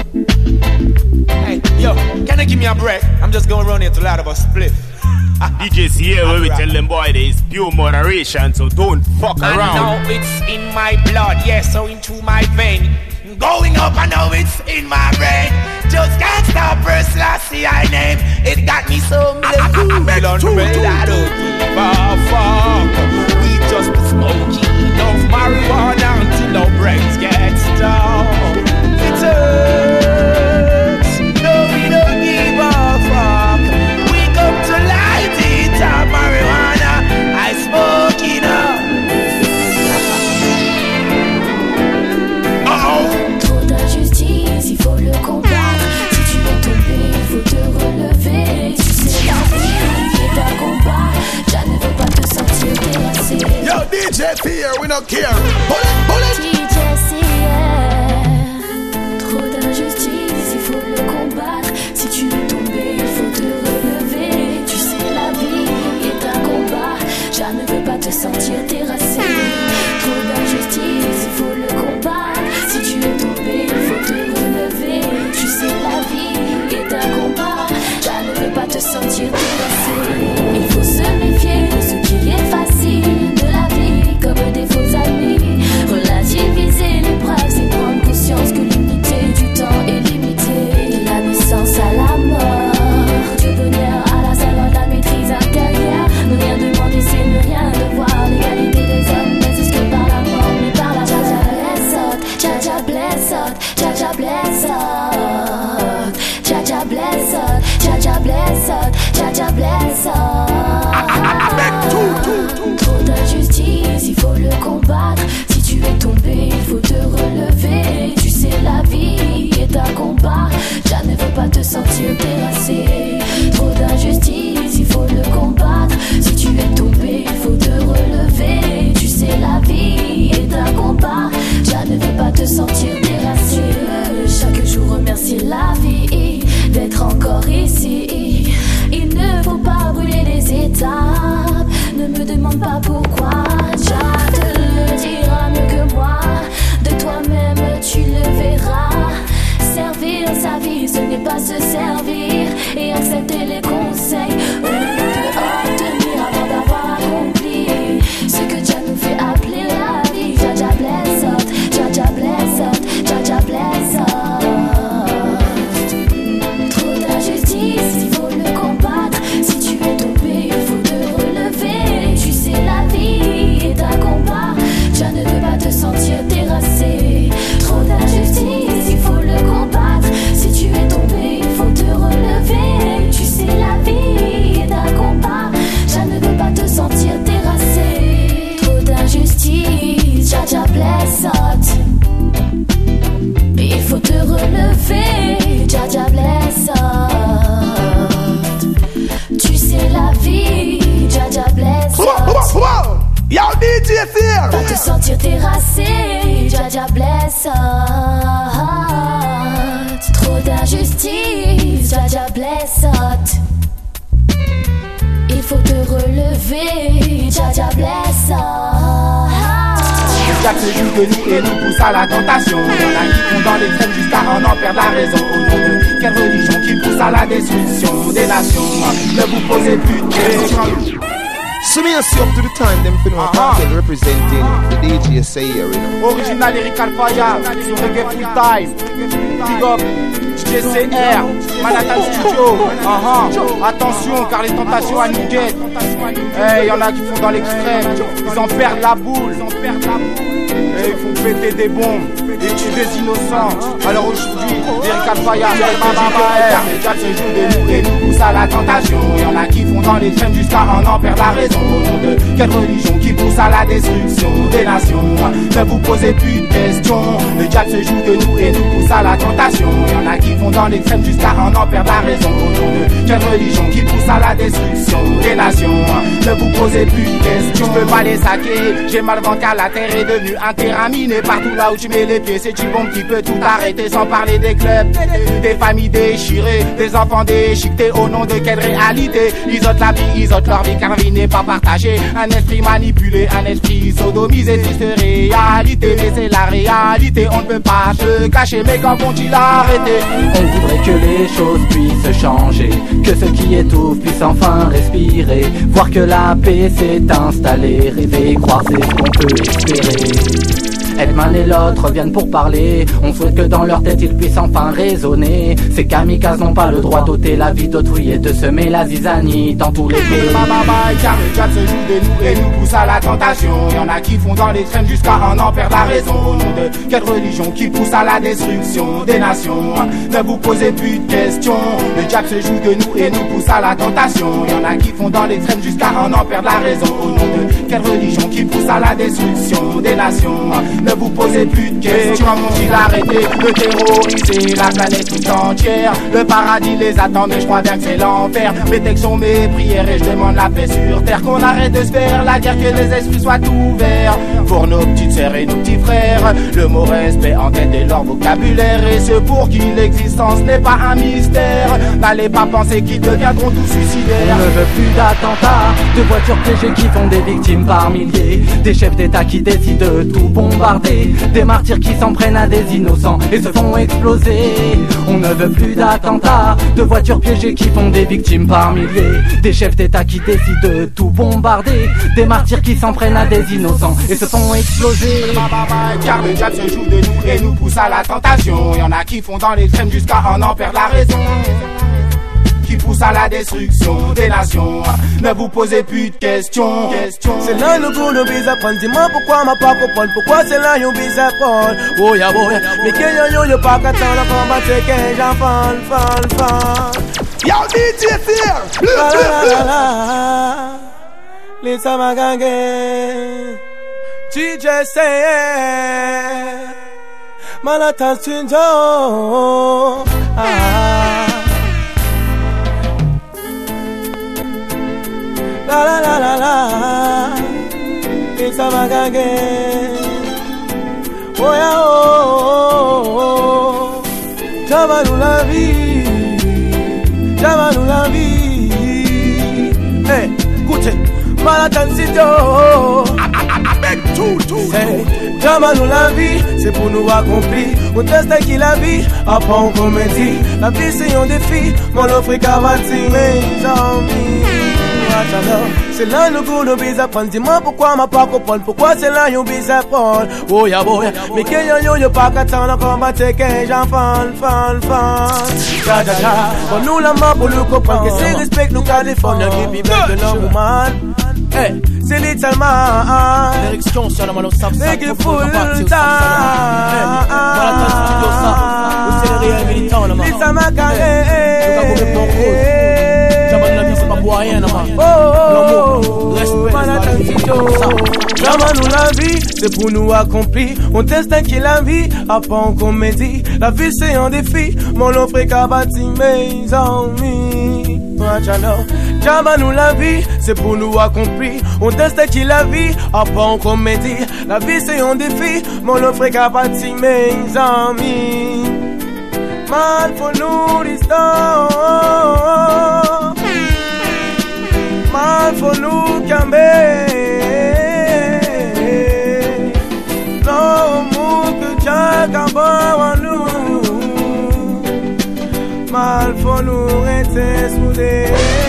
Hey, yo, can you give me a break? I'm just going around here to light up a split. D Js here where we tell them boy there is pure moderation, so don't fuck I around. know it's in my blood, yes, so into my vein. Going up, I know it's in my brain. Just can't stop, first last see I name. It got me so mad. I don't give a fuck. We just smoke enough marijuana until our brains get stuffed. It hurts. No, we don't give a fuck. We come to light it up, marijuana. I smoke it up. Trop d'injustice, il faut le combattre. Si tu veux tomber, il faut te relever. Tu sais la vie est un combat. Je ne veux pas te sentir terrassé. Yo, D J here, we don't care. Bullet, bullet. D J here. Trop d'injustice, il faut le combattre. Si tu veux tomber, il faut te relever. Tu sais la vie est un combat. Je ne veux pas te sentir terrassé. Trop d'injustice, il faut le combattre. Si tu es tombé, il faut te relever. Tu sais la vie est un combat. Je ne veux pas te sentir terrassé. Il faut se méfier de ce qui est facile de la vie, comme des faux amis. Relativiser l'épreuve, c'est prendre conscience que l'unité du temps est limitée. De la naissance à la mort, du bonheur à la saveur de la maîtrise intérieure. Ne rien demander, c'est ne rien devoir. L'égalité des hommes n'existe que par la mort, mais par la Jaja bless us, Jaja bless us, Jaja bless us, Jaja bless us, Jaja bless us. Trop d'injustice, il faut le combattre. Si tu es tombé, il faut te relever. Tu sais la vie est un combat. Je ne veux pas te sentir terrassé. Trop d'injustice, il faut le combattre. Si tu es tombé, il faut te relever. Tu sais la vie est un combat. Je ne veux pas te sentir terrassé. Chaque jour remercier la vie d'être encore ici. Il ne faut pas brûler les étapes. Ne me demande pas pourquoi. Jah te le dira mieux que moi. De toi-même tu le verras. Servir sa vie, ce n'est pas se servir. Et accepter les conseils on peut obtenir avant d'avoir accompli ce que Jah nous fait appeler la vie. Jaja bless us, Jaja bless us, Jaja bless us. Trop d'injustice, il faut le combattre. Si tu es tombé, il faut te relever. Tu sais la vie est un combat. Je ne veux pas te sentir terrassé. Trop d'injustice, il faut le combattre. Si tu es tombé, il faut te relever. Tu sais la vie est un combat. Je ne veux pas te sentir terrassé. Trop d'injustice, Jaja bless us. Il faut te relever, Jaja bless us. Tu sais la vie, Jaja bless us. Yo, D J here. Pas te sentir terrassé, Jaja bless us. Trop d'injustice, Jaja bless us. Il faut te relever, Jaja bless us. Le diable se joue de nous et nous pousse à la tentation. Y'en a qui font dans l'extrême jusqu'à en en perdre la raison. Au nom de quelle religion qui pousse à la destruction des nations? Ne vous posez plus de questions. So me and see up to the time them fin uh -huh. representing the D J S A here, you know. Original Lyrical Fire, sur Reggae Full Time. Big up, D J C R, Manhattan Studio. Uh -huh. Attention, car les tentations à nous guettent. Hey, y'en a qui font dans l'extrême, ils en perdent la boule. Et ils font péter des bombes et tuer des innocents. Alors aujourd'hui, Lyrical Fire, les diables se jouent de nous et nous poussent à la tentation. Y'en a qui font dans l'extrême jusqu'à en en perdre la raison. Au nom de quelle religion qui pousse à la destruction des nations? Ne vous posez plus de questions. Le diable se joue de nous et nous pousse à la tentation. Y'en a qui vont dans l'extrême jusqu'à en en perdre la raison. Au nom de quelle religion qui pousse à la destruction des nations? Ne vous posez plus de questions. Je peux pas les saquer. J'ai mal vent car la terre est devenue un terrain miné. Partout là où tu mets les pieds, c'est du bombe qui peut tout arrêter. Sans parler des clubs, des familles déchirées, des enfants déchiquetés. Au nom de quelle réalité? Ils ôtent la vie, ils ôtent leur vie car la vie n'est pas partagée. Un esprit manipulé, un esprit sodomisé. Triste réalité, mais c'est la réalité. On ne peut pas se cacher, mais quand vont-ils arrêter? On voudrait que les choses puissent changer, que ceux qui étouffent puissent enfin respirer, voir que la paix s'est installée, rêver, croire c'est ce qu'on peut espérer. Edman et l'autre viennent pour parler. On souhaite que dans leur tête ils puissent enfin raisonner. Ces kamikazes n'ont pas le droit d'ôter la vie d'autrui et de semer la zizanie dans tous les pays. Car le diable se joue de nous et nous pousse à la tentation. Y'en a qui font dans l'extrême jusqu'à en en perdre la raison. Au nom de quelle religion qui pousse à la destruction des nations? Ne vous posez plus de questions. Le diable se joue de nous et nous pousse à la tentation. Y'en a qui font dans l'extrême jusqu'à en en perdre la raison. Au nom de quelle religion qui pousse à la destruction des nations? Ne vous posez plus de questions. Vont-ils arrêter de terroriser la planète tout entière? Le paradis les attend, mais je crois bien que c'est l'enfer. Mes textes sont mes prières et je demande la paix sur terre. Qu'on arrête de se faire la guerre, que les esprits soient ouverts pour nos petites sœurs et nos petits frères. Le mot respect en tête de leur vocabulaire, et ceux pour qui l'existence n'est pas un mystère. N'allez pas penser qu'ils deviendront tous suicidaires. On ne veut plus d'attentats, de voitures piégées qui font des victimes par milliers, des chefs d'état qui décident de tout bombarder, des martyrs qui s'en prennent à des innocents et se font exploser. On ne veut plus d'attentats, de voitures piégées qui font des victimes par milliers, des chefs d'état qui décident de tout bombarder, des martyrs qui s'en prennent à des innocents et se font exploser. Car le diable se joue de nous et nous pousse à la tentation. Y'en a qui font dans l'extrême jusqu'à en en perdre la raison, qui pousse à la destruction des nations. Ne vous posez plus de questions. C'est là nous pour nous bise à prendre. Dis-moi pourquoi ma pas comprendre. Pourquoi c'est là nous bise à prendre. Oh ya boy, mais que yo yo yo pas qu'attendre la combat c'est que j'en fan fan fan. Yo D J here, let's Lisa Magange, D J say Manhattan Studio. Ah. La la la la la, it's a magage. Oh yeah oh oh oh, Java nous la vie, Java nous la vie. Hey, écoutez, Manhattan Studio. Avec tout tout. Hey, Java nous la vie, c'est pour nous accomplir. On teste qui la vie, après on comédie. La vie c'est un défi, mon offre cavati, mes amis. C'est là nous pour nous bise à prendre. Dis-moi pourquoi m'a pas comprendre. Pourquoi c'est là nous bise à prendre. Oh ya boy, mais que yo yo yo pas qu'attendre la combat c'est que j'en fan fan fan. Ja ja ja, bon nous la main pour nous comprendre. Que c'est respect nous qu'à défendre. Give me back the number man. Hey, c'est little man. L'érection sur la mano ça c'est que full time. Voilà ton studio ça. C'est le réel militant là. Little man carré. Rien, oh, oh, oh, Jama nous la vie, c'est pour nous accomplir. On teste qui la vie, après on comédie. La vie c'est un défi, mon offre est qu'à bâtir mes amis. Jama nous la vie, c'est pour nous accomplir. On teste qui la vie, après on comédie. La vie c'est un défi, mon offre est qu'à bâtir mes amis. mal for nous l'histoire, mal for nous camber. Non, mon que Jack a en nous, mal for nous rester soudés.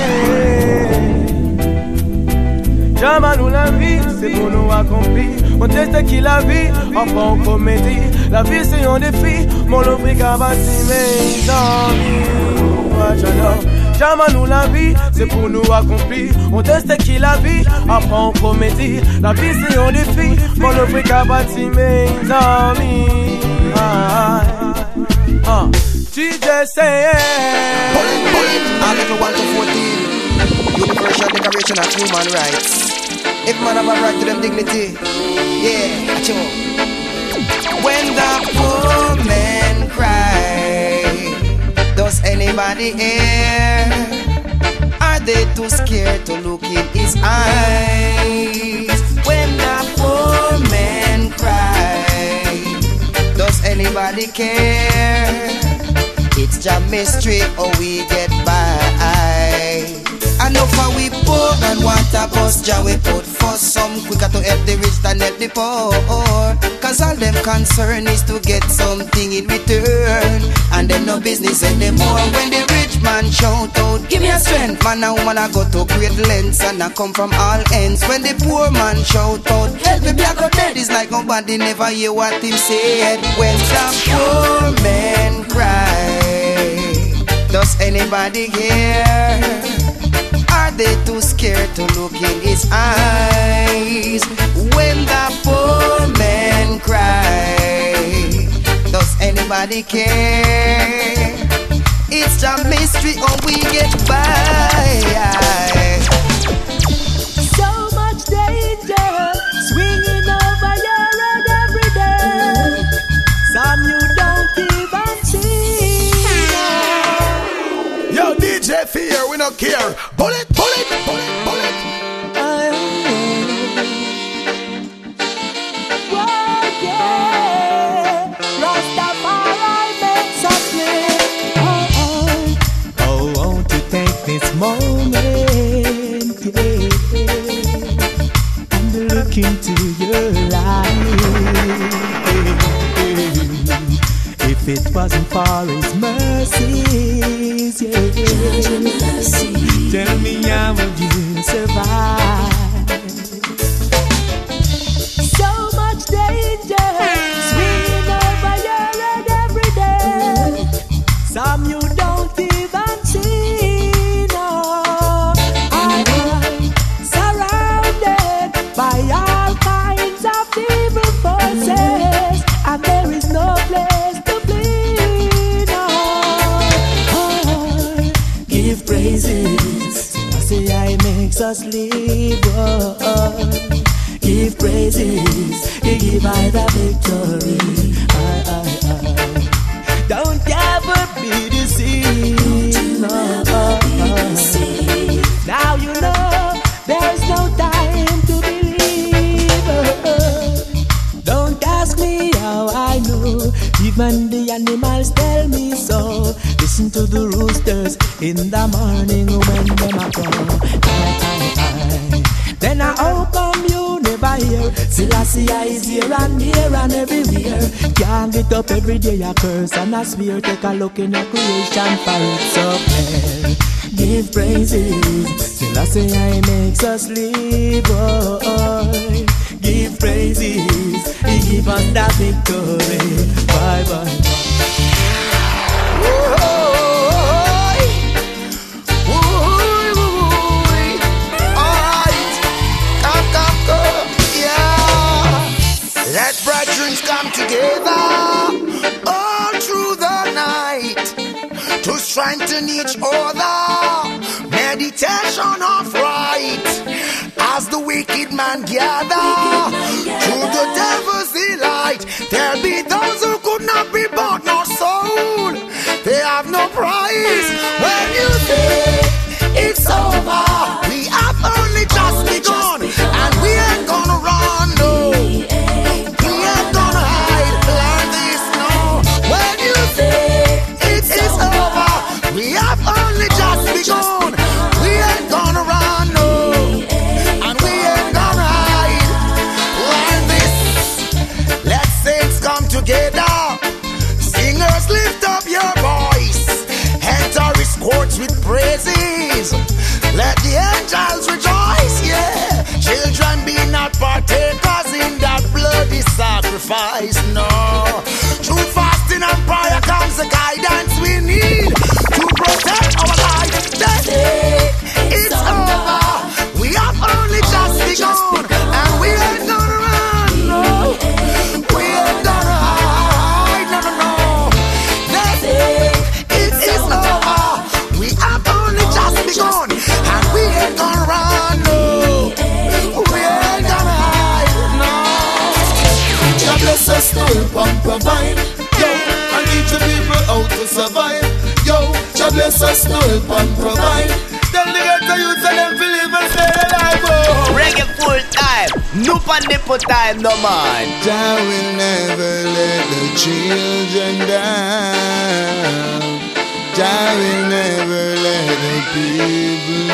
Jamais nous la vie, c'est pour nous accomplir. On teste qui la vie, enfin on comédie. La vie c'est un défi, mon l'offre qu'à bâtir mes amis. Jamais nous la vie, c'est pour nous accomplir. On teste qui la vie, après on comédie. La vie c'est un défi, mon l'offre qu'à bâtir mes amis. Ah, ah, T J say Article one to fourteen, Universal Declaration of Human Rights. If man have a right to them dignity, yeah, acho. When the poor man cry, does anybody hear? Are they too scared to look in his eyes? When the poor man cry, does anybody care? It's just mystery how we get by. I know for we poor and want a bus jar we put for some quicker to help the rich than help the poor. Cause all them concern is to get something in return, and them no business anymore. When the rich man shout out, give me a strength, man and woman I go to great lengths and I come from all ends. When the poor man shout out, help me black out dead, it's like nobody never hear what him said. When the poor man cry, does anybody hear? Are they too scared to look in his eyes? When the poor man cry, does anybody care? It's a mystery how we get by. So much danger swinging over your head every day. Some you don't even see. Yo, D J Fear, we don't care. Bullet, bullet, bullet, bullet. Whoa, yeah. Rastafari makes us live. Oh, oh. Oh, won't you take this moment, yeah, and look into your life. If it wasn't for His mercies, yeah, tell me how would you survive? So much danger swinging over your head every day. Some you don't even see. No, I'm surrounded by all kinds of evil forces, and there is no place to flee. No, oh, Give praises, I say I makes us live. Oh, oh. Give praises, He give I the victory. I, I, I. Don't ever be deceived. No, oh, oh. now you know there's no time to believe. Don't ask me how I know, even the animals tell me so. Listen to the roosters in the morning when them a crow. I, I, I. Then I how come you never hear? Selassie is here and here and everywhere. Can't get up every day a curse and a swear. Take a look in your creation for it's so clear. Give praises, Selassie I makes us live. Oh, oh. Give praises, He give us the victory. Bye bye. Let brethren come together all through the night to strengthen each other. Meditation of right as the wicked man gather through the devil's delight. There'll be those who could not be bought nor sold. They have no price when you say it's over. We have only just begun, and we ain't gonna run, no. We ain't gonna hide, learn this now. When you say it's sacrifice, no. Through fasting and prayer comes the guidance we need to protect our life. The day is over. We have only just begun, and we ain't gonna run, no. We ain't gonna hide, no, no, no. The day is over. We have only just begun, and we ain't gonna run, no. We ain't gonna hide, no. God bless us to help and provide, yo, and teach the people how to survive, yo. God bless us to help and provide. Tell the ghetto youth and them to live and stay alive, oh. Reggae full time, noop and nipple time, no man. I will never let the children down. I will never let the people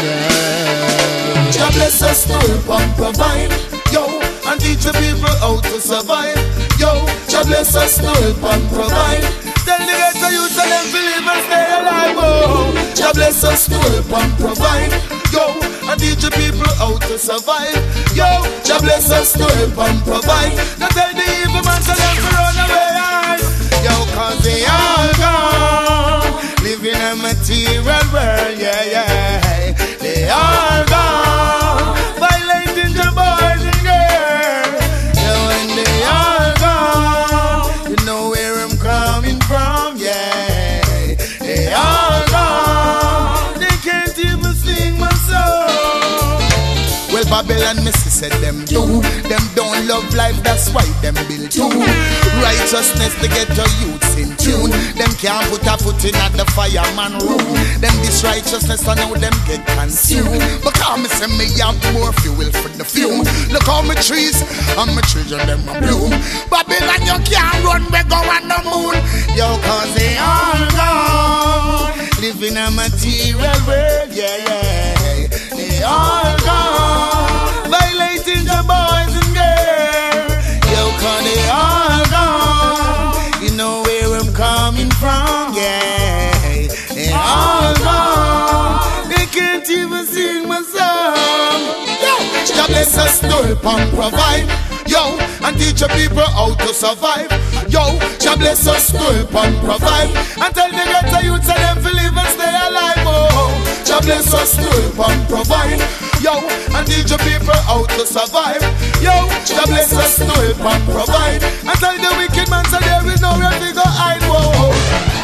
down. God bless us to help and provide, yo, and teach the people how to survive, yo. God bless us to help and provide. Tell the ghetto youth and them to live and stay alive, oh. God bless us to help and provide, yo, and teach the people how to survive, yo. God bless us to help and provide. Now tell the evil man to them to run away, yo, cause they all gone, live in a material world, yeah, yeah. They all gone, violating the boys and girls, yo, and they all gone, you know where I'm coming from, yeah. They all gone, they can't even sing my song. Well, Babylon Missy said them do, them don't love life, that's why them build too. Righteousness to get your youths in tune. Them can't put a foot in at the fireman room. Them this righteousness I know them get consumed. Because me say me have more fuel for the fume. Look how my trees and my children them a bloom. Babylon you can't run, we go on the moon. Yo, cause they all gone, live in a material world, yeah, yeah. They all gone, violating the boys and girls. Yo, cause they all gone, you know where I'm coming from, yeah. They all gone, they can't even sing my song. Yo, God bless us to help and provide, yo, and teach the people how to survive, yo. God bless us to help and provide, and tell the ghetto youths and them to live and stay alive, oh. God bless us to help and provide, yo, and teach the people how to survive, yo. God bless us to help and provide, and tell the wicked man so there is nowhere to go hide, whoa.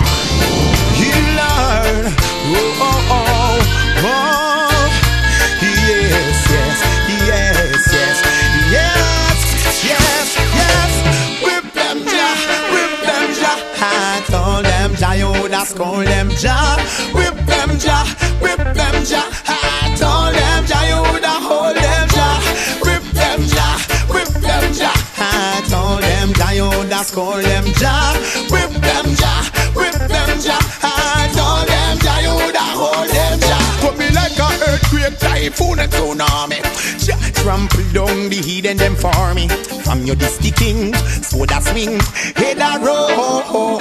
Lord, oh, oh, oh, oh, yes, yes, yes, yes, yes, yes, yes. Whip them, Jah, whip them, Jah. I told them, Jah, you da scold them, Jah. Whip them, Jah, whip them, Jah. I told them, Jah, you da hold them, Jah. Whip them, Jah, whip them, Jah. I told them, Jah, you da scold them, Jah. Whip them, Jah, whip them, Jah. I told them, Jah, you da hold them, Jah. Put me like a earthquake, typhoon and tsunami. Jah trample down the heathen them for me. From your disty king, so that swing, head a roll.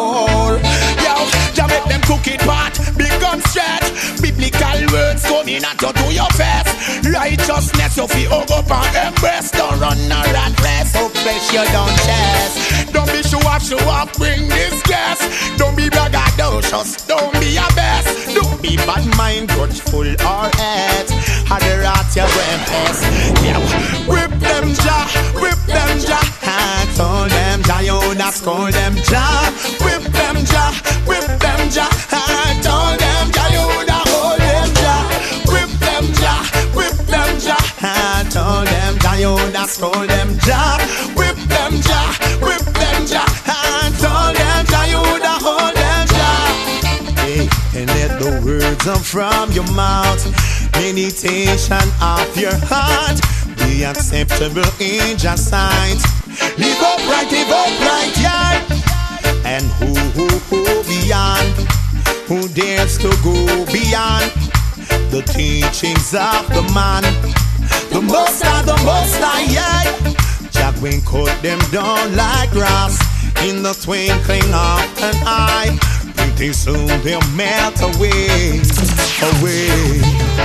Yo, Jah make them cook it pot, become stretch. Biblical words coming out to do your best. Righteousness you feel hug up and embrace. Don't run a rat race, so fresh you don't chest. Don't be show off, show off, bring this gas. Don't be braggadocious, don't be a best. Don't be bad mind, grudgeful or hate. Had the rat your brain pass. Yeah, whip them, Jah, whip them, Jah. I told them, Jah, you da scold them, Jah. Whip them, Jah, whip them, Jah. I told them, Jah, you da hold them, Jah. Whip them, Jah, whip them, Jah. I told them, Jah, you da scold them, Jah. Whip them, Jah, whip them, Jah. I told them, Jah, you da hold them, Jah. Hey, and let the words come from your mouth, meditation of your heart, be acceptable in your sight. Live upright, live upright, yeah. And who, who, who beyond, who dares to go beyond the teachings of the man, the most high, the most high, yeah. Jah will cut them down like grass in the twinkling of an eye. Pretty soon they'll melt away, away.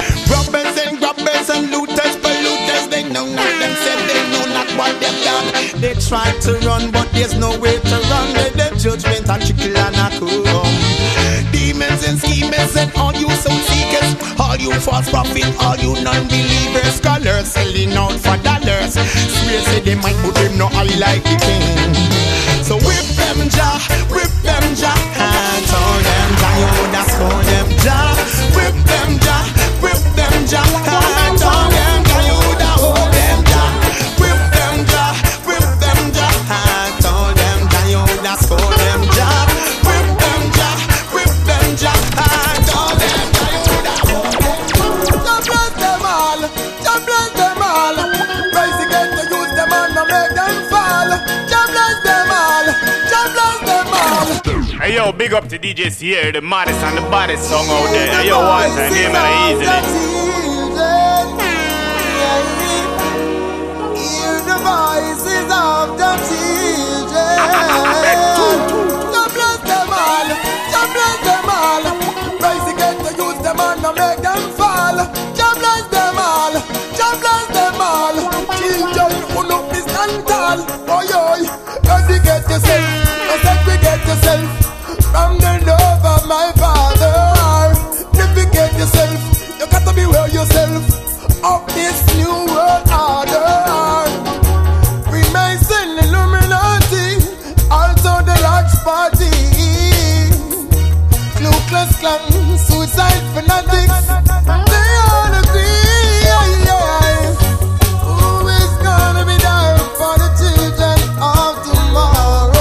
Robbers and grabbers and looters, polluters, they know not them said they know not what they've done. They try to run, but there's no way to run. Let them judgment and trickle and a come. Demons and schemers and all you soul seekers, all you false prophets, all you non-believers, scholars selling out for dollars. Swear say they might put them no eye like the king. So whip them jaw, whip them jaw, and turn them jaw. You woulda score them jaw. Whip them jaw, whip them jaw, and turn them jaw. You woulda hold them jaw. Whip them jaw, whip them jaw, and turn them jaw. You woulda score them jaw. Whip them jaw, whip them jaw, and turn them jaw. You woulda hold them jaw. God bless them all, God bless them all. Rise again to use them and not make them fall. God bless them all, God bless them all. Hey yo, big up to D J Sierra, the maddest and the baddest song out there. Hey yo, one time, name it easily. Hear the voices of the children. God bless them all, God bless them all. Rise again to use them and not make them fall. God bless them all, God bless them all. Children, who look this and tall. Oh yo, educate yourself, segregate yourself from the love of my Father. Navigate yourself, you got to beware yourself of this new world order. Freemason, Illuminati, also the large party, Ku Klux Klan, suicide fanatics, they all agree. Yeah, yeah. Who is gonna be there for the children of tomorrow?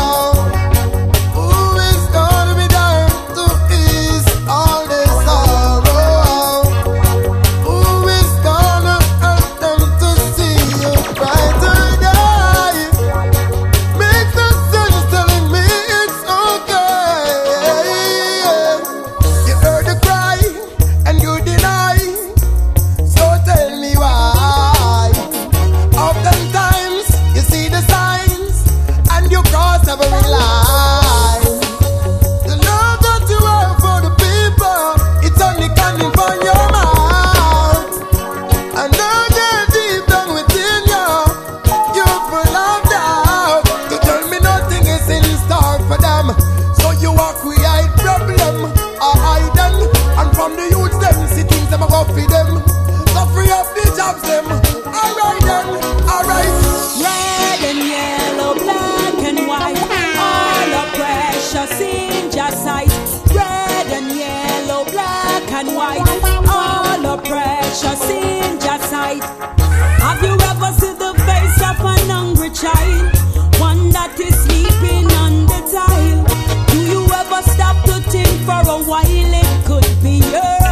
Have you ever seen the face of an hungry child? One that is sleeping on the tile. Do you ever stop to think for a while it could be your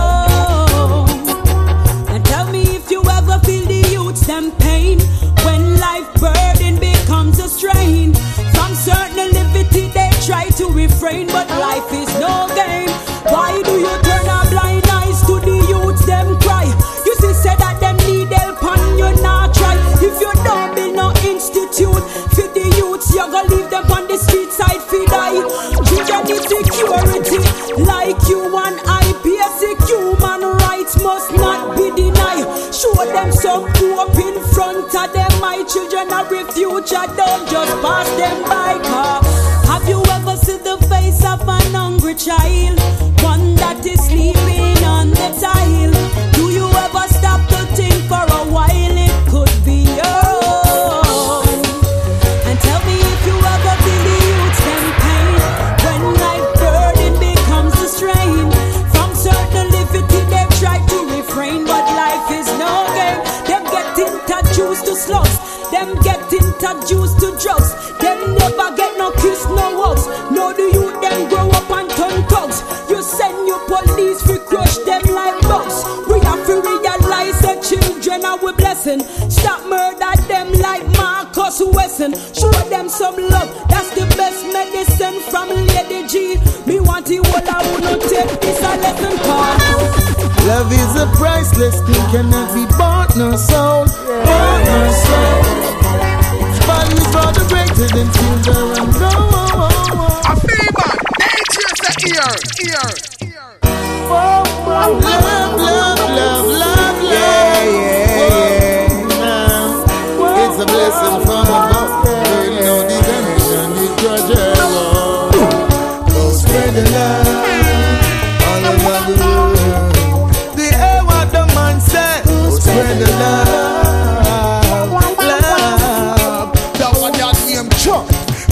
own? And tell me if you ever feel the youths them pain when life burden becomes a strain. From certain liberty they try to refrain, but life is no game. Why do you turn a blind eyes to the youths them cry? You see say that them need help and you not try. If you don't build no institute for the youths, you gonna leave them on the street side for die. Children need security like you and I. Basic human rights must not be denied. Show them some hope in front of them. My children are the future, don't just pass them by. Car. Have you ever seen the face of an hungry child? One that is sleeping on the tile. Do you ever stop to think for a while it could be your own? And tell me if you ever feel the youths them pain when life burden becomes a strain. From certain liberty they try to refrain, but life is no game. Them get introduced to slugs, them get introduced to drugs. Them never get no kiss, no hugs. No the youth them grow up and turn thugs. You send your police, we crush them like bugs. We have to realize that children are we blessing. Stop murder them like Marcus Wesson. Show them some love, that's the best medicine from Lady G. Me want the whole I wanna take this a lesson call. Love is a priceless thing, cannot be bought, no soul, bought, no soul. Body is for the greater than children, no. A fever, dangerous at ear, ear. Love, love, love, love, love. Yeah, yeah, yeah. It's a blessing from above.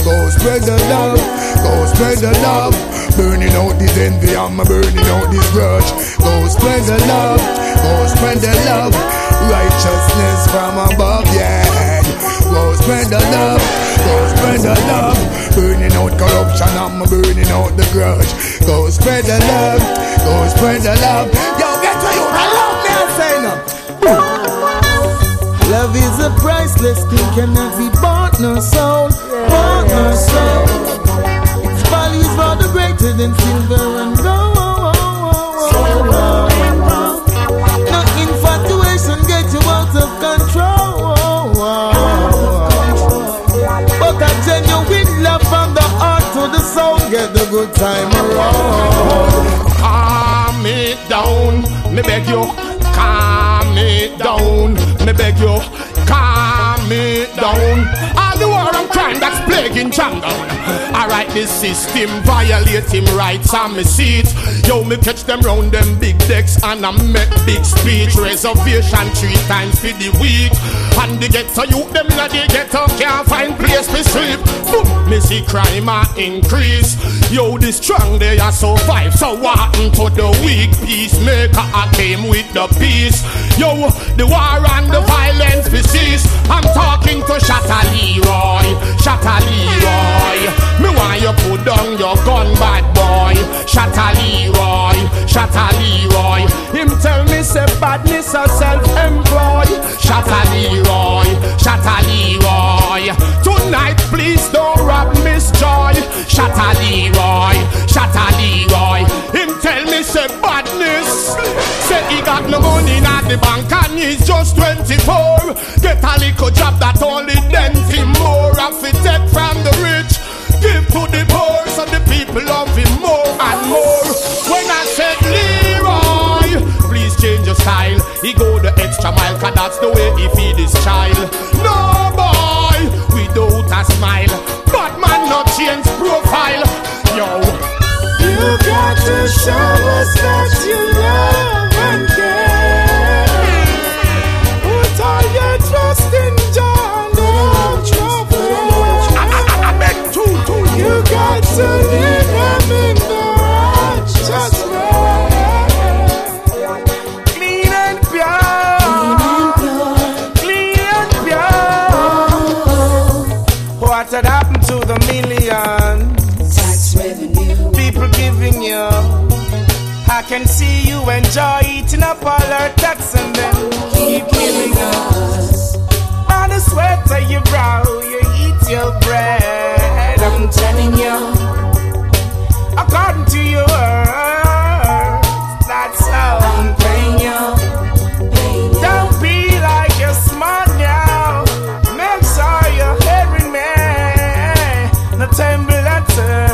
Go spread the love, go spread the love. Burning out this envy, I'm burning out this grudge. Go spread the love, go spread the love. Righteousness from above, yeah. Go spread the love, go spread the love. Burning out corruption, I'm burning out the grudge. Go spread the love, go spread the love. Yo, get to you, I love me, I say no. Love is a priceless thing, cannot be bought, no soul, bought, no soul. Its value is rather greater than silver and gold. No infatuation get you out of control, but a genuine love from the heart to the soul get the good time around. Calm it down, me beg you. Calm it down, me beg you. Calm it down. All the war and crime that's plaguing jungle. Alright, this system violate him rights on me seats. Yo, me catch them round them big decks and I make big speech. Reservation three times for the week. And the ghetto youth them in the ghetto can't find place to sleep. Boom, me see crime a increase. Yo, the strong they are survive. So what happened to the weak? Peacemaker I came with the peace. Yo, the war and the violence we cease. I'm talking to Shatta Leroy, Shatta Leroy. Me want you put down your gun, bad boy. Shatta Leroy, Shatta Leroy. Him tell me say badness a self-employed. Shatta Leroy, Shatta Leroy. Tonight please don't rob Miss Joy. Shatta Leroy, Shatta Leroy. Him tell me say badness. Say he got no money in the bank and he's just twenty-four. Get a little job that only dent him more. If he take from the rich, give to the poor, so the people love him more and more. When I said Leroy, please change your style. He go the extra mile, cause that's the way he feed his child. No boy, without a smile, but man not change profile. Yo, you got to show us that you love and care. Put all your trust in John, don't trouble. I beg to, to you got to lead them in the righteous way. Clean and pure, clean and pure. What had happened to the millions? Tax revenue, people giving you. I can see you enjoy eating up all our tax and then keep killing us. On the sweat of your brow, you eat your bread. I'm telling you, according to your words, that's how I'm paying you. Don't be like you're smart now. Make sure you're hearing me. No temple at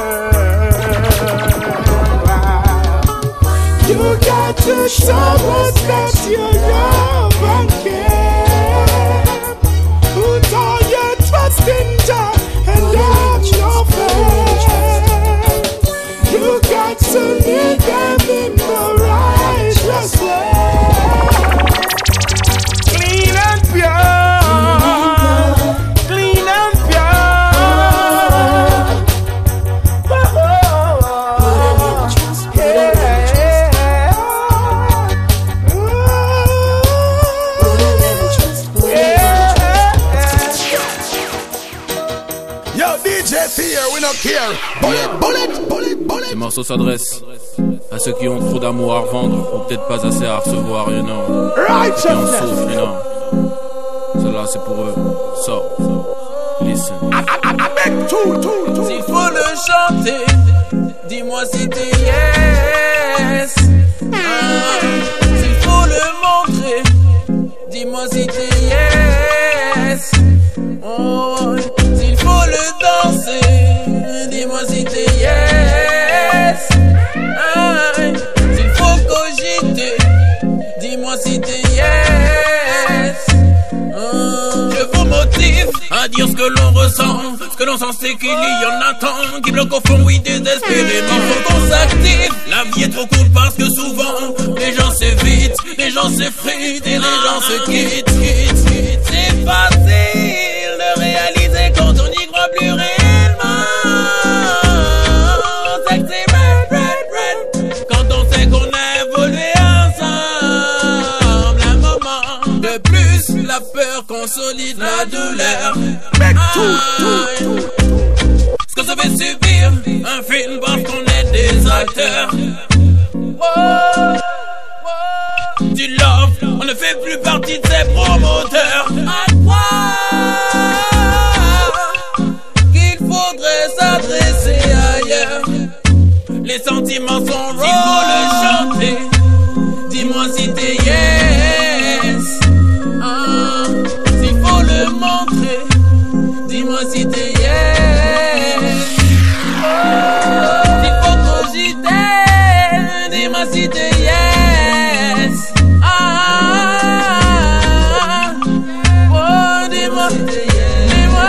you got to show us that you love and care. Put all your trust in Jah and have no fear. You got to lead them in the righteous way. Clean and pure, clean and pure. Oh, Ces morceaux s'adressent à ceux qui ont trop d'amour à revendre ou peut-être pas assez à recevoir, you know. Ceux qui en souffrent, you know. Cela c'est pour eux. So, listen. S'il faut le chanter, dis-moi si t'es yes. Ah, s'il faut le montrer, dis-moi si t'es yes. Oh, s'il faut le danser, dis-moi si t'es yes. Ah, s'il faut cogiter, dis-moi si t'es yes. Ah, je vous motive à dire ce que l'on ressent. Ce que l'on sent c'est qu'il y en a tant qui bloquent au fond, oui, désespérément. Faut qu'on s'active, la vie est trop courte parce que souvent les gens s'évitent, les gens s'effritent et les gens se quittent, quittent, quittent. C'est facile de réaliser quand on n'y croit plus réellement. peur consolide la douleur. Ce que ça fait subir un film parce qu'on est des acteurs. Oh, oh. Du love, on ne fait plus partie de ses promoteurs. À croire qu'il faudrait s'adresser ailleurs. Les sentiments sont raw. Il faut le chanter. Dis-moi si t'es yes. Ah, s'il faut le montrer. Dis-moi si t'es yes. Oh, s'il faut cogiter. Dis-moi si t'es yes. Ah, oh, dis-moi si t'es yes. Dis-moi.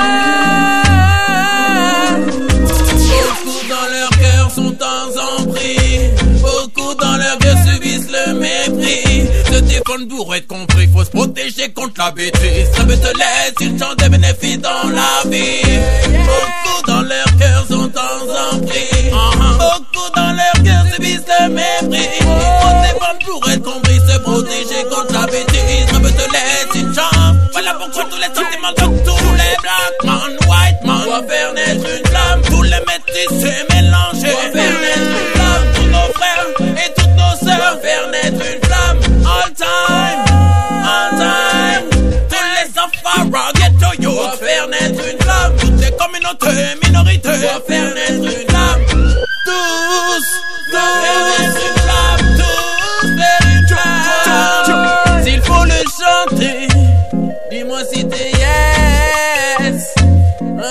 Beaucoup dans leur cœur sont en emprise. Beaucoup dans leur cœur subissent le mépris. Se défendre pour être compris, faut se protéger contre la bêtise. Ça veut te laisser, ils chantent des bénéfices dans la vie. Beaucoup dans leur cœur sont en emprise. Beaucoup dans leur cœur subissent le mépris. Faut se défendre pour être compris, se protéger contre la bêtise. Ça veut te laisser, ils chantent. Voilà pourquoi tous les sentiments de tous les black man, white man doivent faire naître une flamme. Tous les métis se mélanger, doivent faire naître une flamme. Tous nos frères et toutes nos sœurs faire naître une flamme. All time, all time. Tous les Safara, ghetto yo, doivent faire naître une flamme. Toutes les communautés, minorités doivent faire naître une flamme. Tous doivent faire naître une flamme. Tous faire une flamme. S'il faut le chanter, dis-moi si t'es yes. Ah,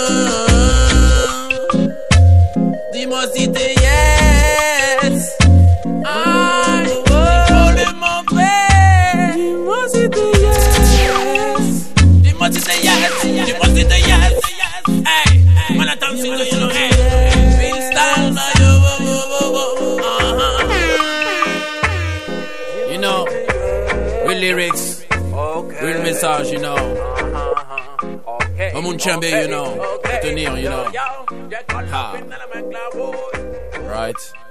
dis-moi si t'es yes. Ah, il faut le montrer. Dis-moi si t'es yes. Dis-moi si t'es yes. Dis-moi si t'es yes. Hey, man, attends, si tu know, hey. Real style, now you, uh-huh. You know, real lyrics, real message, you know. Comme un chambe, you know. Tenir, you know. Ha. Right.